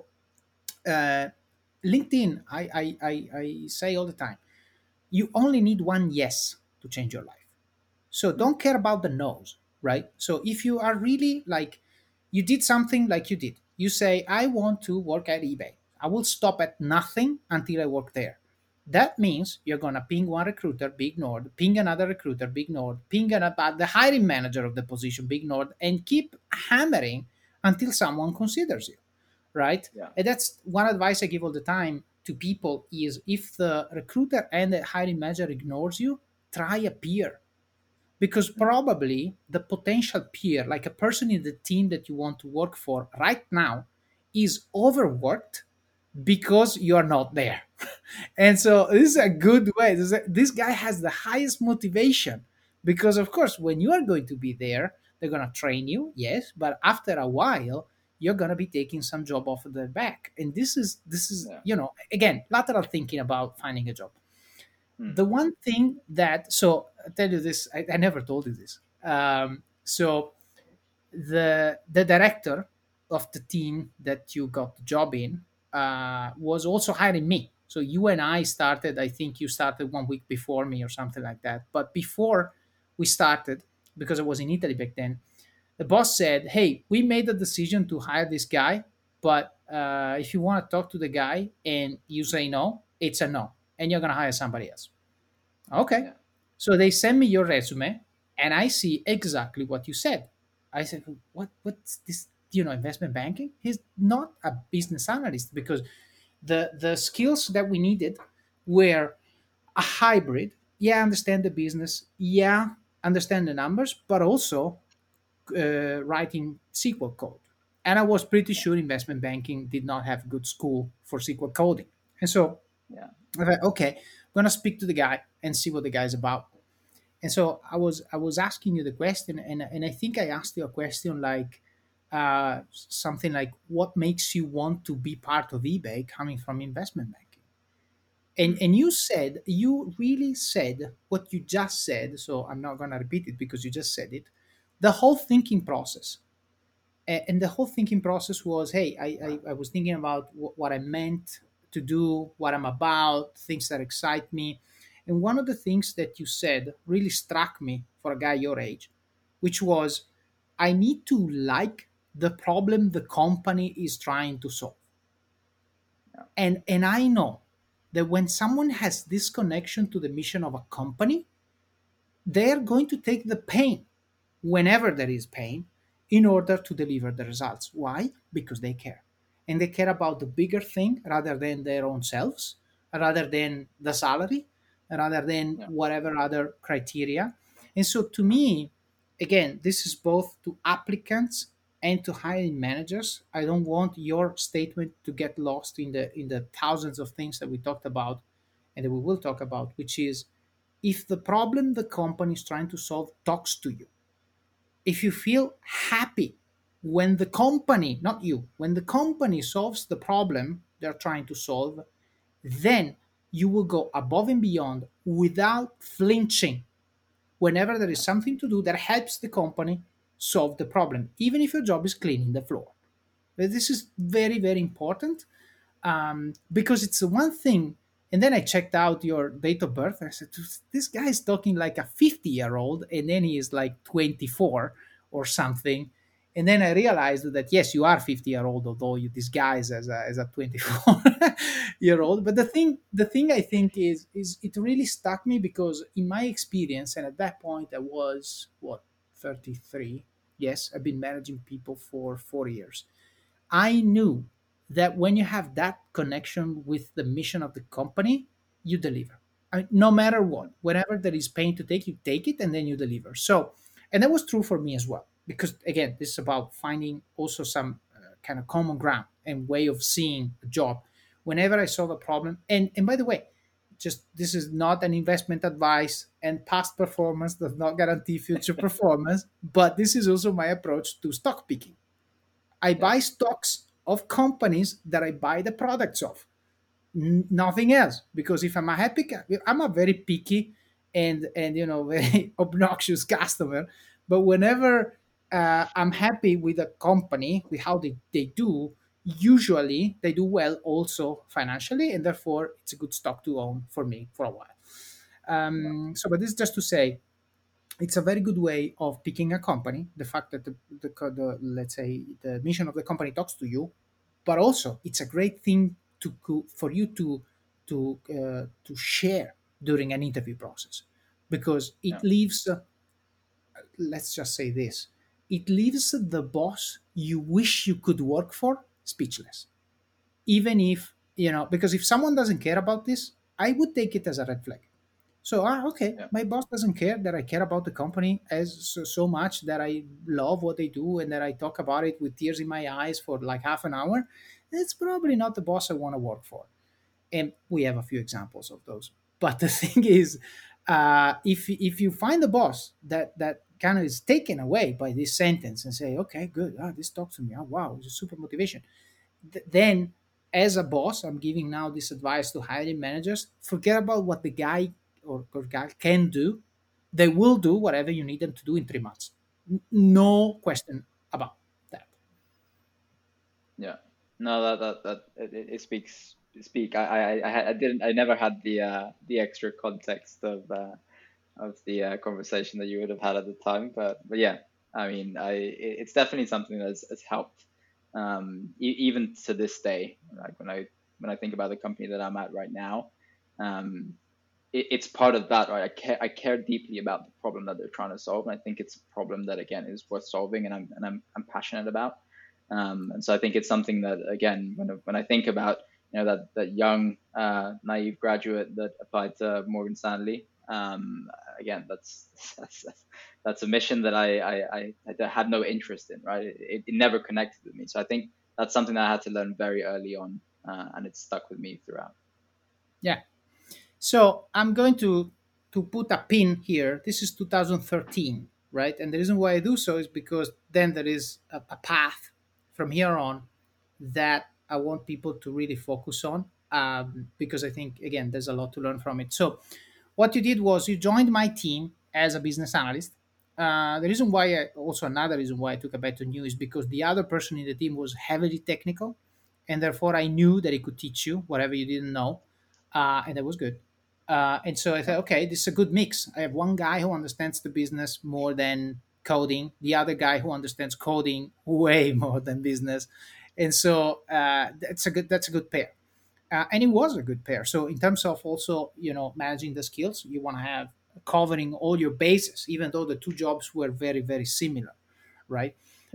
uh, LinkedIn, I, I, I, I say all the time, you only need one yes to change your life. So Mm. don't care about the no's, right? So if you are really like, you did something like you did, you say, I want to work at eBay. I will stop at nothing until I work there. That means you're going to ping one recruiter, be ignored, ping another recruiter, be ignored, ping another, the hiring manager of the position, be ignored, and keep hammering until someone considers you, right? Yeah. And that's one advice I give all the time to people is if the recruiter and the hiring manager ignores you, try a peer, because Mm. probably the potential peer, like a person in the team that you want to work for right now, is overworked because you're not there. And so this is a good way. This, is a- this guy has the highest motivation because, of course, when you are going to be there, they're going to train you, yes, but after a while, you're going to be taking some job off of their back. And this is, this is, Yeah. you know, again, lateral thinking about finding a job. Mm. The one thing that, so I'll tell you this, I, I never told you this. Um, so the the director of the team that you got the job in uh, was also hiring me. So you and I started. I think you started one week before me or something like that. But before we started, because I was in Italy back then, the boss said, "Hey, we made the decision to hire this guy, but uh, if you want to talk to the guy and you say no, it's a no, and you're gonna hire somebody else." Okay. Yeah. So they send me your resume and I see exactly what you said. I said, what what's this, you know, investment banking? He's not a business analyst because the the skills that we needed were a hybrid. Yeah, understand the business. Yeah, understand the numbers, but also uh, writing S Q L code. And I was pretty Yeah. sure investment banking did not have good school for S Q L coding. And so Yeah. I thought, okay, I'm gonna speak to the guy and see what the guy's about. And so I was I was asking you the question, and and I think I asked you a question like uh, something like, "What makes you want to be part of eBay coming from investment banking?" And Mm. and you said you really said what you just said. So I'm not gonna repeat it because you just said it. The whole thinking process, A- and the whole thinking process was, hey, I I, I was thinking about wh- what I meant to do, what I'm about, things that excite me. And one of the things that you said really struck me for a guy your age, which was, I need to like the problem the company is trying to solve. Yeah. And and I know that when someone has this connection to the mission of a company, they're going to take the pain whenever there is pain in order to deliver the results. Why? Because they care. and they care about the bigger thing rather than their own selves, rather than the salary, rather than Yeah. whatever other criteria. And so to me, again, this is both to applicants and to hiring managers. I don't want your statement to get lost in the in the thousands of things that we talked about and that we will talk about, which is if the problem the company is trying to solve talks to you, if you feel happy when the company, not you, when the company solves the problem they're trying to solve, then you will go above and beyond without flinching whenever there is something to do that helps the company solve the problem, even if your job is cleaning the floor. This is very, very important, um, because it's the one thing. And then I checked out your date of birth. I said, this guy is talking like a fifty year old, and then he is like twenty-four or something. And then I realized that yes, you are fifty year old, although you disguise as a, as a twenty-four year old. But the thing, the thing I think is, is it really stuck me because in my experience, and at that point I was what, thirty-three. Yes, I've been managing people for four years. I knew that when you have that connection with the mission of the company, you deliver. I mean, no matter what, whenever there is pain to take, you take it and then you deliver. So, and that was true for me as well. Because again, this is about finding also some uh, kind of common ground and way of seeing a job. Whenever I solve a problem, and and by the way, just this is not an investment advice, and past performance does not guarantee future performance. But this is also my approach to stock picking. I Yeah. buy stocks of companies that I buy the products of. N- nothing else. Because if I'm a happy, ca- I'm a very picky and and you know very obnoxious customer. But whenever uh, I'm happy with a company with how they, they do, usually they do well also financially, and therefore it's a good stock to own for me for a while. Yeah. Um, so, but this is just to say it's a very good way of picking a company. The fact that the, the, the let's say the mission of the company talks to you, but also it's a great thing to co- for you to to uh, to share during an interview process, because it Yeah. leaves uh, let's just say this, it leaves the boss you wish you could work for speechless. Even if you know, because if someone doesn't care about this, I would take it as a red flag. So, ah, okay, Yeah. my boss doesn't care that I care about the company as so, so much that I love what they do and that I talk about it with tears in my eyes for like half an hour. It's probably not the boss I want to work for. And we have a few examples of those. But the thing is, uh, if if you find a boss that that kind of is taken away by this sentence and say, okay, good, ah, this talks to me, oh wow, it's a super motivation, th- then as a boss, I'm giving now this advice to hiring managers: forget about what the guy or, or gal can do. They will do whatever you need them to do in three months. N- no question about that. Yeah. No, that that that it, it it speaks speak. I I I had- I didn't I never had the uh the extra context of uh of the uh, conversation that you would have had at the time, but but yeah, I mean, I it- it's definitely something that's has helped um e even to this day. Like when I when I think about the company that I'm at right now, um it, it's part of that, right? I care I care deeply about the problem that they're trying to solve, and I think it's a problem that again is worth solving, and I'm and I'm I'm passionate about. Um, and so I think it's something that again, when I, when I think about you know that that young uh, naive graduate that applied to Morgan Stanley, um, again, that's, that's that's a mission that I I, I, I had no interest in, right? It, it never connected with me. So I think that's something that I had to learn very early on, uh, and it's stuck with me throughout. Yeah. So I'm going to to put a pin here. This is two thousand thirteen, right? And the reason why I do so is because then there is a, a path from here on that I want people to really focus on, um, because I think again there's a lot to learn from it. So what you did was you joined my team as a business analyst. Uh, the reason why I, also another reason why I took a bet on you is because the other person in the team was heavily technical, and therefore I knew that he could teach you whatever you didn't know, uh, and that was good. Uh, and so I Yeah, thought, okay, this is a good mix. I have one guy who understands the business more than coding, the other guy who understands coding way more than business, and so uh, that's a good that's a good pair. Uh, and it was a good pair. So in terms of also you know managing the skills, you want to have covering all your bases, even though the two jobs were very very similar, right?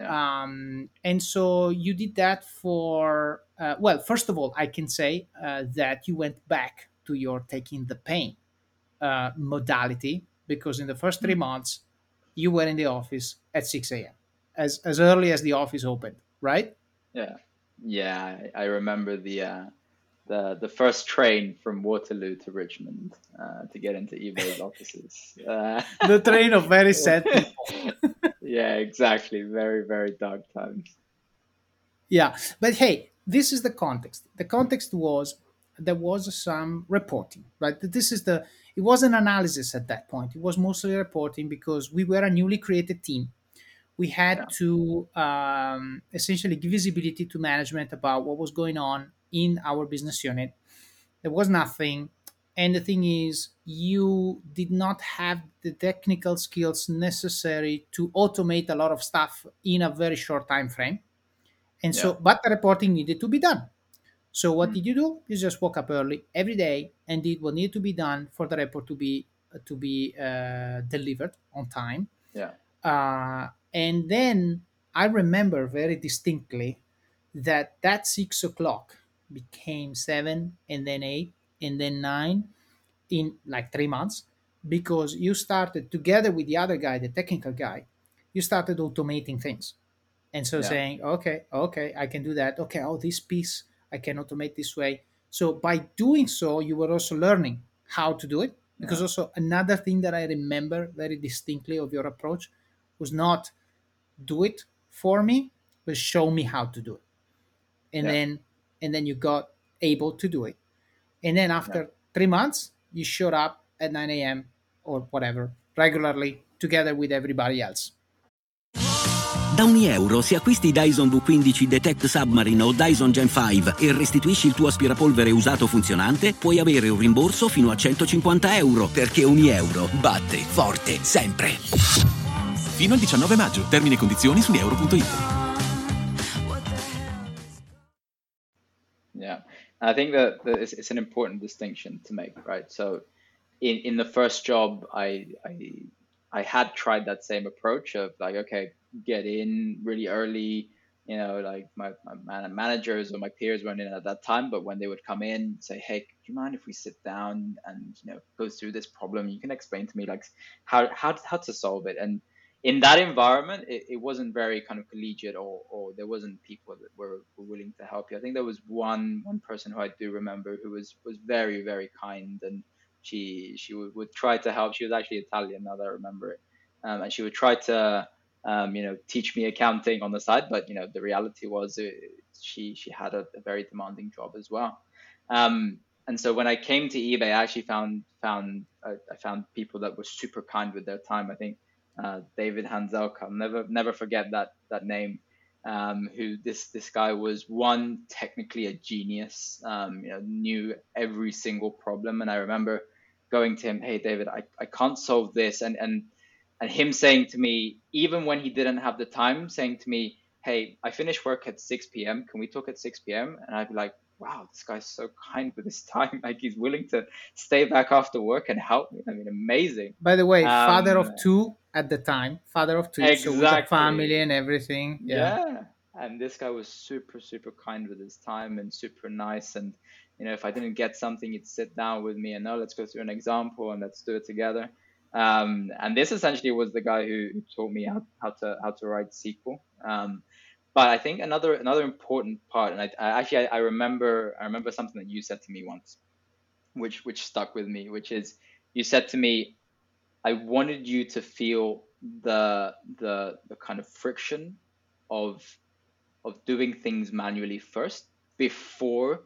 Yeah. Um, and so you did that for, uh, well, first of all, I can say uh, that you went back to your taking the pain uh, modality, because in the first three Mm. months you were in the office at six a m as as early as the office opened, right? Yeah. Yeah. I, I remember the uh, the the first train from Waterloo to Richmond uh, to get into eBay's offices. Uh, The train of very sad people. yeah, exactly. Very, very dark times. Yeah, but hey, this is the context. The context was there was some reporting, right? This is the it wasn't analysis at that point. It was mostly reporting because we were a newly created team. We had Yeah. to um, essentially give visibility to management about what was going on in our business unit. There was nothing. And the thing is, you did not have the technical skills necessary to automate a lot of stuff in a very short time frame. And Yeah. so, but the reporting needed to be done. So what Mm. did you do? You just woke up early every day and did what needed to be done for the report to be to be uh, delivered on time. Yeah. Uh, and then I remember very distinctly that that six o'clock became seven, and then eight, and then nine in like three months, because you started together with the other guy, the technical guy, you started automating things. And so Yeah. saying, okay, okay, I can do that. Okay, oh, this piece I can automate this way. So by doing so, you were also learning how to do it. Because Yeah. also another thing that I remember very distinctly of your approach was not do it for me, but show me how to do it. And Yeah. then and then you got able to do it. And then Yeah. after three months, you showed up at nine a m or whatever regularly together with everybody else. Da ogni euro, se acquisti Dyson V quindici Detect Submarine o Dyson Gen cinque e restituisci il tuo aspirapolvere usato funzionante, puoi avere un rimborso fino a centocinquanta euro, perché ogni euro batte forte sempre. Fino al diciannove maggio. Termini e condizioni su euro punto it. Yeah. I think that, that it's, it's an important distinction to make, right? So in, in the first job, I, I I had tried that same approach of like, okay, get in really early. You know, like my, my man- managers or my peers weren't in at that time, but when they would come in, say, hey, do you mind if we sit down and you know go through this problem? You can explain to me like how how how to solve it. And in that environment, it, it wasn't very kind of collegiate, or or there wasn't people that were, were willing to help you. I think there was one one person who I do remember who was was very very kind, and she she would, would try to help. She was actually Italian, now that I remember it, um, and she would try to um, you know teach me accounting on the side. But you know the reality was uh, she she had a, a very demanding job as well. Um, and so when I came to eBay, I actually found found uh, I found people that were super kind with their time. I think uh, David Hanzelka, I'll never never forget that that name. Um, who this this guy was, one, technically a genius, um, you know, knew every single problem. And I remember going to him, hey David, I, I can't solve this, and and and him saying to me, even when he didn't have the time, saying to me, hey, I finish work at six p m. Can we talk at six p m? And I'd be like, wow, this guy's so kind with his time. Like he's willing to stay back after work and help me. I mean, amazing. By the way, father Um, of two at the time, father of two, so with a family exactly. and everything. Yeah. Yeah. And this guy was super, super kind with his time and super nice. And, you know, if I didn't get something, he'd sit down with me and, no, let's go through an example and let's do it together. Um, and this essentially was the guy who, who taught me how, how to how to write S Q L. Um, but I think another another important part, and I, I actually I, I remember I remember something that you said to me once, which which stuck with me, which is you said to me, I wanted you to feel the the the kind of friction of of doing things manually first before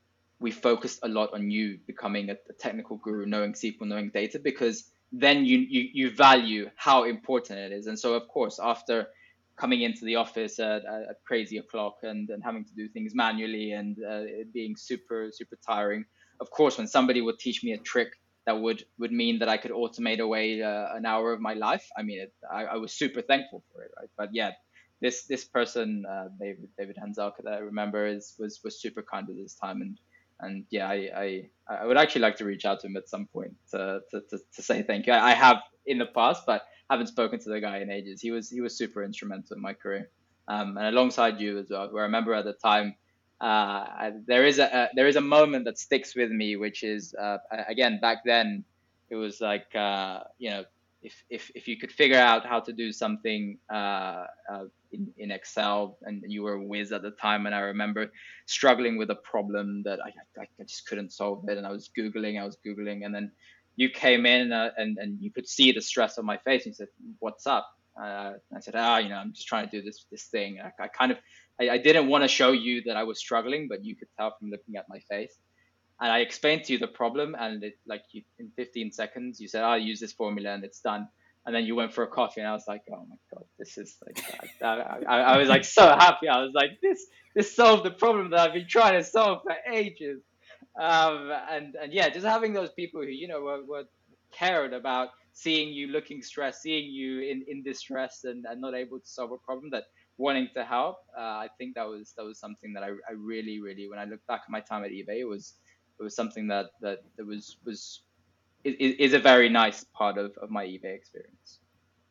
we focused a lot on you becoming a, a technical guru, knowing S Q L, knowing data, because then you, you you value how important it is. And so, of course, after coming into the office at, at crazy o'clock and, and having to do things manually and uh, it being super super tiring, of course, when somebody would teach me a trick that would would mean that I could automate away uh, an hour of my life, I mean, it, I, I was super thankful for it, right? But yeah, this this person, uh, David David Hanzelka, that I remember, is was was super kind with his time, and and yeah, I, I I would actually like to reach out to him at some point to to, to, to say thank you. I, I have in the past, but haven't spoken to the guy in ages. He was he was super instrumental in my career, um, and alongside you as well. Where I remember at the time, uh, I, there is a, a there is a moment that sticks with me, which is uh, again back then, it was like uh, you know if, if if you could figure out how to do something uh, uh, in, in Excel, and you were a whiz at the time, and I remember struggling with a problem that I, I, I just couldn't solve it, and I was googling, I was googling, and then you came in uh, and and you could see the stress on my face, and you said, "What's up?" Uh, I said, "Ah, you know, I'm just trying to do this this thing." I, I kind of I, I didn't want to show you that I was struggling, but you could tell from looking at my face. And I explained to you the problem, and it, like you, in fifteen seconds, you said, "I'll use this formula," and it's done. And then you went for a coffee, and I was like, "Oh my god, this is like," I, I, I was like so happy. I was like, "This, this solved the problem that I've been trying to solve for ages." Um, and and yeah, just having those people who you know were, were cared about seeing you looking stressed, seeing you in, in distress, and, and not able to solve a problem, that wanting to help. Uh, I think that was that was something that I, I really really, when I look back at my time at eBay, it was it was something that that, that was was is, is a very nice part of, of my eBay experience.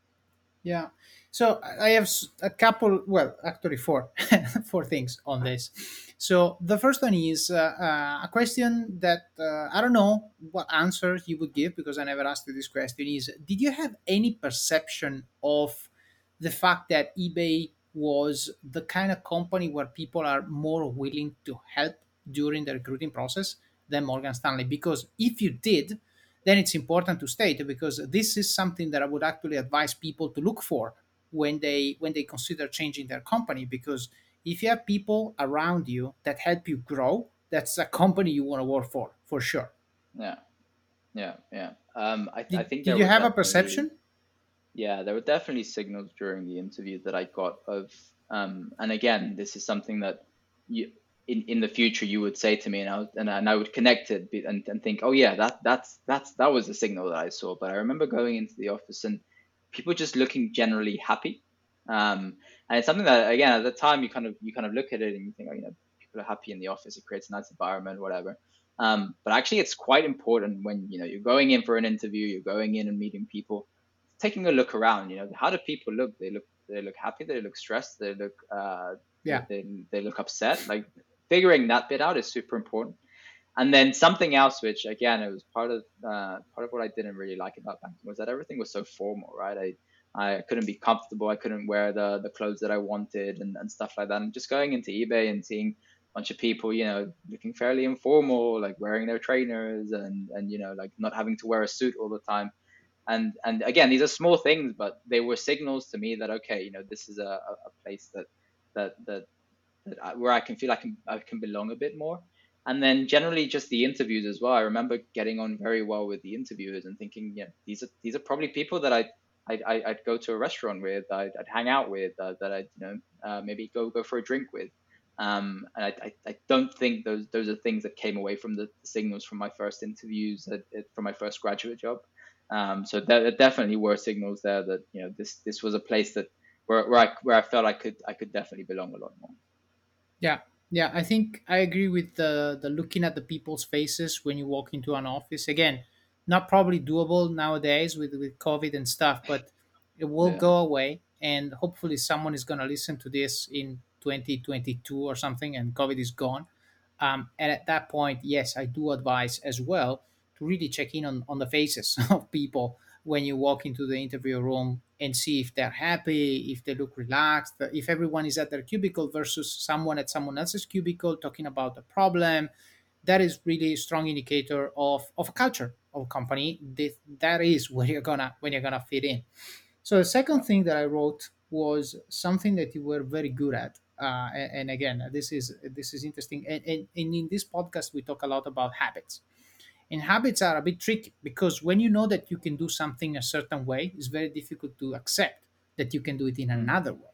Yeah. So I have s- a couple, well, actually four, four things on this. So the first one is uh, uh, a question that uh, I don't know what answer you would give because I never asked you this question. Is did you have any perception of the fact that eBay was the kind of company where people are more willing to help during the recruiting process than Morgan Stanley? Because if you did, then it's important to state because this is something that I would actually advise people to look for when they when they consider changing their company. Because if you have people around you that help you grow, that's a company you want to work for for sure. Yeah, yeah, yeah. Um, I I Did, think did there you were have a definitely perception? yeah there were definitely signals during the interview that I got of um, and again, this is something that you in, in the future you would say to me, and I would, and, I- and I would connect it be- and, and think, oh yeah, that that's that's that was a signal that I saw. But I remember going into the office and people just looking generally happy. Um, and it's something that again at the time you kind of you kind of look at it and you think, oh, you know, people are happy in the office, it creates a nice environment, whatever. Um, but actually, it's quite important when you know you're going in for an interview, you're going in and meeting people, taking a look around. You know, how do people look? They look they look happy, they look stressed, they look uh, they, Yeah. they, they look upset. Like figuring that bit out is super important. And then something else, which again, it was part of uh, part of what I didn't really like about banking, was that everything was so formal, right? I I couldn't be comfortable. I couldn't wear the the clothes that I wanted and, and stuff like that. And just going into eBay and seeing a bunch of people, you know, looking fairly informal, like wearing their trainers and and you know, like not having to wear a suit all the time. And and again, these are small things, but they were signals to me that okay, you know, this is a, a place that that that that I, where I can feel I can I can belong a bit more. And then generally just the interviews as well. I remember getting on very well with the interviewers and thinking, yeah, these are these are probably people that I I'd, I'd, I'd go to a restaurant with, I'd, I'd hang out with, uh, that I'd you know uh, maybe go go for a drink with. Um, and I, I, I don't think those those are things that came away from the signals from my first interviews at, at, from my first graduate job. Um, so there, there definitely were signals there that you know this this was a place that where, where I where I felt I could I could definitely belong a lot more. Yeah, yeah, I think I agree with the the looking at the people's faces when you walk into an office. Again, not probably doable nowadays with with COVID and stuff, but it will Yeah. go away, and hopefully someone is going to listen to this in twenty twenty-two or something, and COVID is gone. Um, and at that point, yes, I do advise as well to really check in on, on the faces of people when you walk into the interview room and see if they're happy, if they look relaxed, if everyone is at their cubicle versus someone at someone else's cubicle talking about the problem. That is really a strong indicator of, of a culture of a company. That, that is where you're gonna when you're gonna fit in. So the second Yeah. thing that I wrote was something that you were very good at. Uh, and, and again, this is this is interesting. And, and, and in this podcast, we talk a lot about habits. And habits are a bit tricky because when you know that you can do something a certain way, it's very difficult to accept that you can do it in Mm. another way.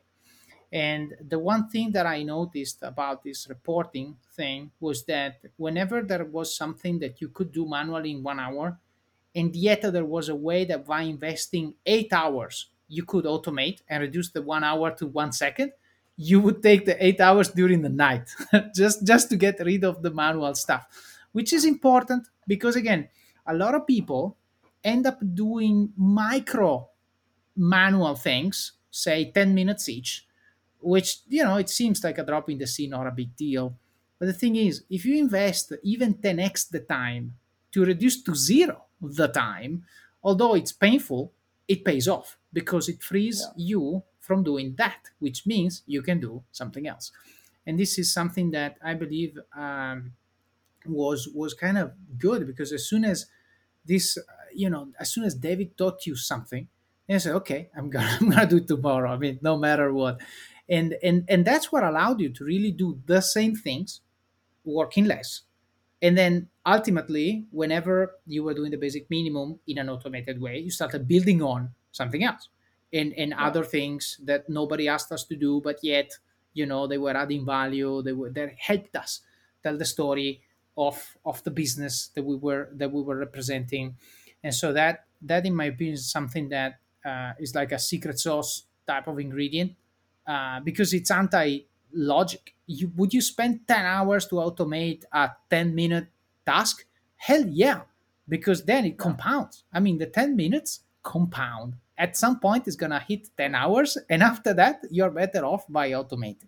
And the one thing that I noticed about this reporting thing was that whenever there was something that you could do manually in one hour, and yet there was a way that by investing eight hours, you could automate and reduce the one hour to one second, you would take the eight hours during the night just just to get rid of the manual stuff, which is important because again, a lot of people end up doing micro manual things, say ten minutes each, which, you know, it seems like a drop in the sea, not a big deal. But the thing is, if you invest even ten x the time to reduce to zero the time, although it's painful, it pays off because it frees Yeah. you from doing that, which means you can do something else. And this is something that I believe um, was was kind of good, because as soon as this, uh, you know, as soon as David taught you something, and you say, okay, I'm gonna I'm gonna do it tomorrow. I mean, no matter what, and and and that's what allowed you to really do the same things, working less. And then ultimately, whenever you were doing the basic minimum in an automated way, you started building on something else, and and Yeah. other things that nobody asked us to do, but yet, you know, they were adding value. They were that helped us tell the story of of the business that we were that we were representing. And so that that in my opinion is something that uh, is like a secret sauce type of ingredient, uh, because it's anti logic. You would you spend ten hours to automate a ten minute task? Hell yeah, because then it Yeah. compounds. I mean, the ten minutes compound. At some point, it's gonna hit ten hours, and after that, you're better off by automating.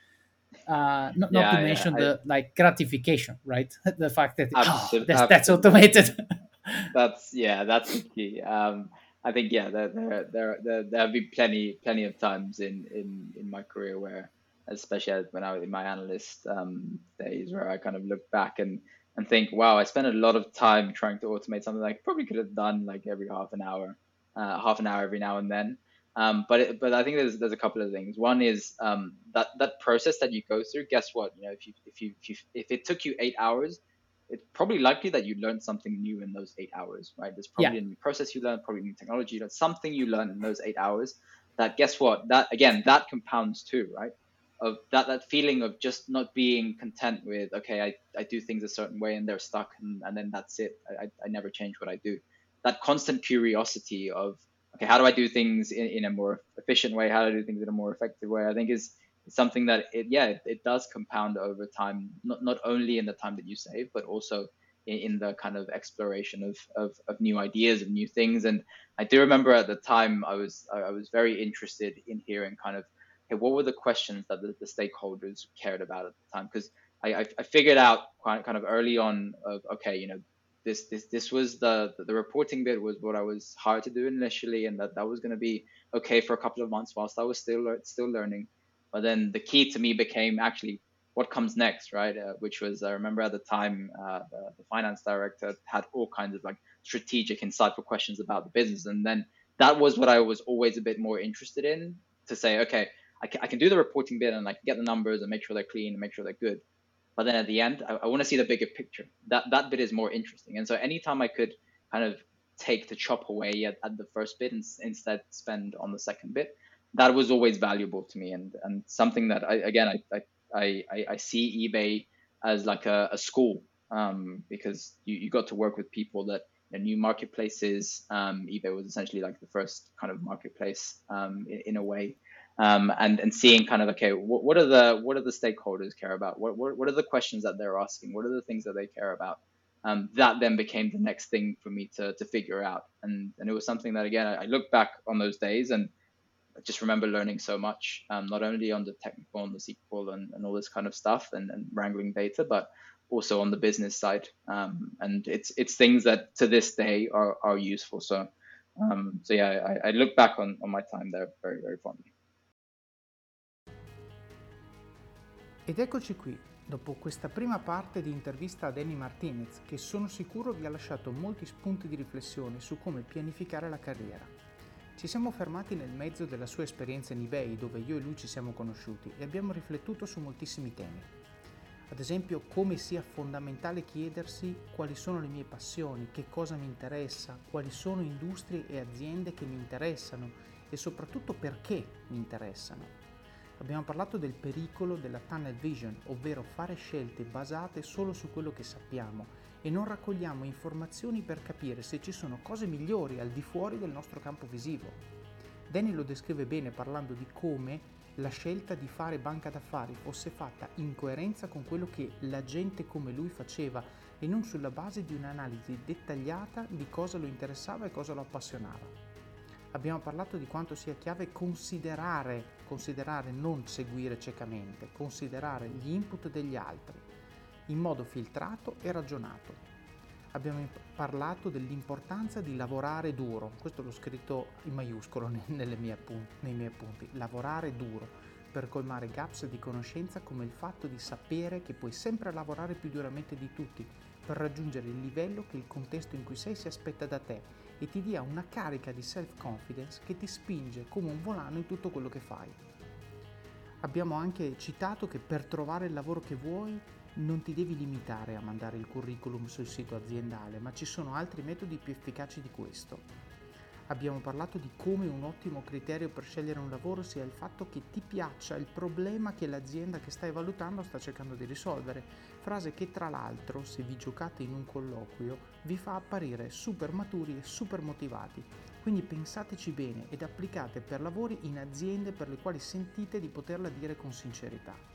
Uh, not, not to Yeah. Yeah. mention I the like gratification, right? The fact that oh, absolutely that's that's absolutely. automated. That's yeah, that's the key. Um, I think yeah, there there there there, there have been plenty plenty of times in in in my career where, especially as- when I was in my analyst um, days, where I kind of look back and and think, wow, I spent a lot of time trying to automate something I probably could have done like every half an hour, uh, half an hour every now and then. Um, but it, but I think there's there's a couple of things. One is um, that that process that you go through. Guess what? You know, if you if you if you if it took you eight hours, it's probably likely that you learned something new in those eight hours, right? There's Yeah, probably a new process you learned, probably new technology you learned, something you learned in those eight hours that guess what? That again, that compounds too, right? Of that that feeling of just not being content with, okay, I, I do things a certain way and they're stuck and, and then that's it. I, I never change what I do. That constant curiosity of, okay, how do I do things in, in a more efficient way? How do I do things in a more effective way? I think is it's something that it yeah it, it does compound over time, not not only in the time that you save but also in, in the kind of exploration of, of of new ideas, of new things. And I do remember at the time i was i was very interested in hearing kind of, okay, what were the questions that the, the stakeholders cared about at the time, because I, I i figured out quite kind of early on of, okay, you know, this this this was the the reporting bit was what I was hired to do initially, and that that was going to be okay for a couple of months whilst I was still still learning. But then the key to me became actually what comes next, right? Uh, which was, I remember at the time, uh, the, the finance director had all kinds of like strategic, insightful questions about the business. And then that was what I was always a bit more interested in, to say, okay, I can, I can do the reporting bit and I can get the numbers and make sure they're clean and make sure they're good. But then at the end, I, I want to see the bigger picture. That that bit is more interesting. And so anytime I could kind of take the chop away at, at the first bit and instead spend on the second bit, that was always valuable to me, and and something that I again I I I, I see eBay as like a, a school, um, because you, you got to work with people that, you know, new marketplaces. Um, eBay was essentially like the first kind of marketplace, um, in, in a way, um, and and seeing kind of, okay, what, what are the what are the stakeholders care about? What, what what are the questions that they're asking? What are the things that they care about? Um, that then became the next thing for me to to figure out, and and it was something that again I, I look back on those days and I just remember learning so much, um, not only on the technical, on the S Q L and, and all this kind of stuff, and, and wrangling data, but also on the business side. Um, and it's it's things that to this day are, are useful. So um, so yeah, I, I look back on, on my time there very, very fondly. ed eccoci qui, dopo questa prima parte di intervista a Danny Martinez, che sono sicuro vi ha lasciato molti spunti di riflessione su come pianificare la carriera. Ci siamo fermati nel mezzo della sua esperienza in eBay, dove io e lui ci siamo conosciuti, e abbiamo riflettuto su moltissimi temi. Ad esempio, come sia fondamentale chiedersi quali sono le mie passioni, che cosa mi interessa, quali sono industrie e aziende che mi interessano e soprattutto perché mi interessano. Abbiamo parlato del pericolo della tunnel vision, ovvero fare scelte basate solo su quello che sappiamo e non raccogliamo informazioni per capire se ci sono cose migliori al di fuori del nostro campo visivo. Danny lo descrive bene parlando di come la scelta di fare banca d'affari fosse fatta in coerenza con quello che la gente come lui faceva e non sulla base di un'analisi dettagliata di cosa lo interessava e cosa lo appassionava. Abbiamo parlato di quanto sia chiave considerare, considerare non seguire ciecamente, considerare gli input degli altri in modo filtrato e ragionato. Abbiamo parlato dell'importanza di lavorare duro, questo l'ho scritto in maiuscolo nelle mie appunti, nei miei appunti, lavorare duro per colmare gaps di conoscenza come il fatto di sapere che puoi sempre lavorare più duramente di tutti per raggiungere il livello che il contesto in cui sei si aspetta da te e ti dia una carica di self-confidence che ti spinge come un volano in tutto quello che fai. Abbiamo anche citato che per trovare il lavoro che vuoi non ti devi limitare a mandare il curriculum sul sito aziendale, ma ci sono altri metodi più efficaci di questo. Abbiamo parlato di come un ottimo criterio per scegliere un lavoro sia il fatto che ti piaccia il problema che l'azienda che stai valutando sta cercando di risolvere, frase che tra l'altro, se vi giocate in un colloquio, vi fa apparire super maturi e super motivati. Quindi pensateci bene ed applicate per lavori in aziende per le quali sentite di poterla dire con sincerità.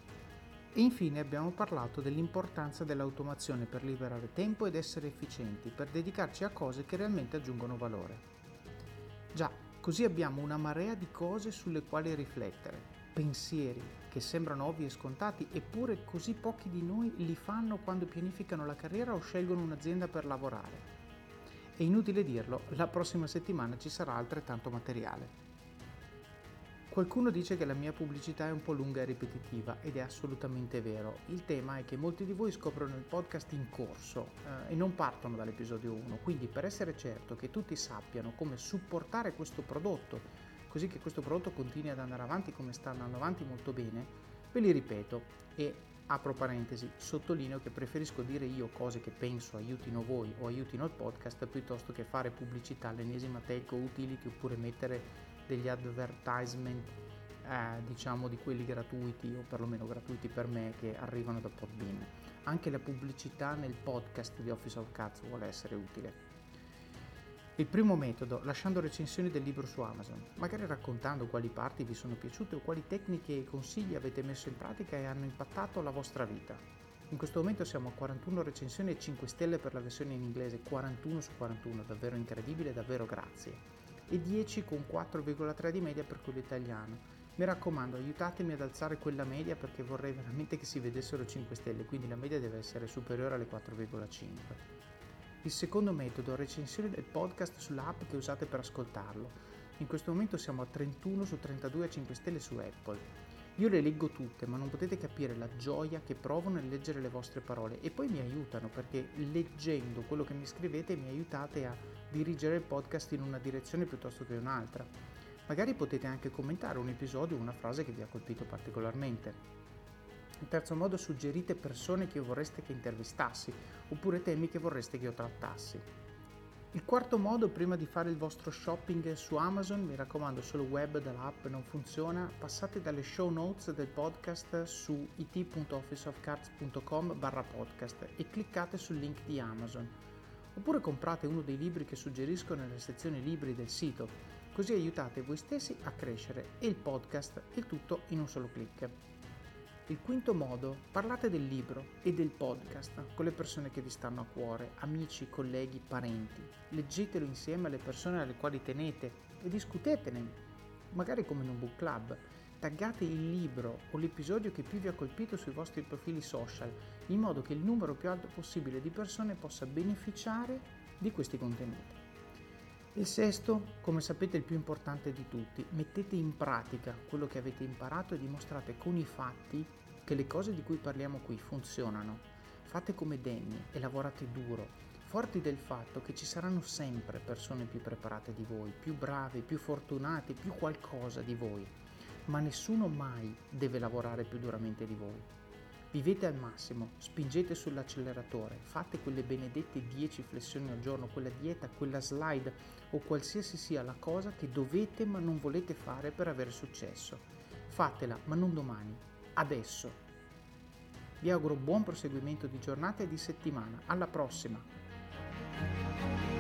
E infine abbiamo parlato dell'importanza dell'automazione per liberare tempo ed essere efficienti, per dedicarci a cose che realmente aggiungono valore. Già, così abbiamo una marea di cose sulle quali riflettere, pensieri che sembrano ovvi e scontati, eppure così pochi di noi li fanno quando pianificano la carriera o scelgono un'azienda per lavorare. È inutile dirlo, la prossima settimana ci sarà altrettanto materiale. Qualcuno dice che la mia pubblicità è un po' lunga e ripetitiva ed è assolutamente vero. Il tema è che molti di voi scoprono il podcast in corso eh, e non partono dall'episodio uno, quindi per essere certo che tutti sappiano come supportare questo prodotto, così che questo prodotto continui ad andare avanti come sta andando avanti molto bene, ve li ripeto e apro parentesi, sottolineo che preferisco dire io cose che penso aiutino voi o aiutino il podcast piuttosto che fare pubblicità all'ennesima telco utility oppure mettere degli advertisement eh, diciamo di quelli gratuiti o perlomeno gratuiti per me che arrivano da Podbean. Anche la pubblicità nel podcast di Office of Cards vuole essere utile. Il primo metodo, lasciando recensioni del libro su Amazon, magari raccontando quali parti vi sono piaciute o quali tecniche e consigli avete messo in pratica e hanno impattato la vostra vita. In questo momento siamo a quarantuno recensioni e cinque stelle per la versione in inglese, quarantuno su quarantuno, davvero incredibile, davvero grazie. E dieci con quattro virgola tre di media per quello italiano. Mi raccomando, aiutatemi ad alzare quella media perché vorrei veramente che si vedessero cinque stelle, quindi la media deve essere superiore alle quattro virgola cinque. Il secondo metodo, recensioni del podcast sull'app che usate per ascoltarlo. In questo momento siamo a trentuno su trentadue a cinque stelle su Apple. Io le leggo tutte, ma non potete capire la gioia che provo nel leggere le vostre parole e poi mi aiutano perché leggendo quello che mi scrivete mi aiutate a dirigere il podcast in una direzione piuttosto che un'altra. Magari potete anche commentare un episodio o una frase che vi ha colpito particolarmente. In terzo modo, suggerite persone che vorreste che intervistassi oppure temi che vorreste che io trattassi. Il quarto modo, prima di fare il vostro shopping su Amazon, mi raccomando, solo web dall'app non funziona, passate dalle show notes del podcast su it punto office of cards punto com barra podcast e cliccate sul link di Amazon. Oppure comprate uno dei libri che suggerisco nella sezione libri del sito, così aiutate voi stessi a crescere e il podcast, il tutto in un solo click. Il quinto modo, parlate del libro e del podcast con le persone che vi stanno a cuore, amici, colleghi, parenti. Leggetelo insieme alle persone alle quali tenete e discutetene, magari come in un book club. Taggate il libro o l'episodio che più vi ha colpito sui vostri profili social, in modo che il numero più alto possibile di persone possa beneficiare di questi contenuti. Il sesto, come sapete, è il più importante di tutti. Mettete in pratica quello che avete imparato e dimostrate con i fatti che le cose di cui parliamo qui funzionano. Fate come Danny e lavorate duro, forti del fatto che ci saranno sempre persone più preparate di voi, più brave, più fortunate, più qualcosa di voi, ma nessuno mai deve lavorare più duramente di voi. Vivete al massimo, spingete sull'acceleratore, fate quelle benedette dieci flessioni al giorno, quella dieta, quella slide o qualsiasi sia la cosa che dovete ma non volete fare per avere successo. Fatela, ma non domani, adesso. Vi auguro buon proseguimento di giornata e di settimana. Alla prossima!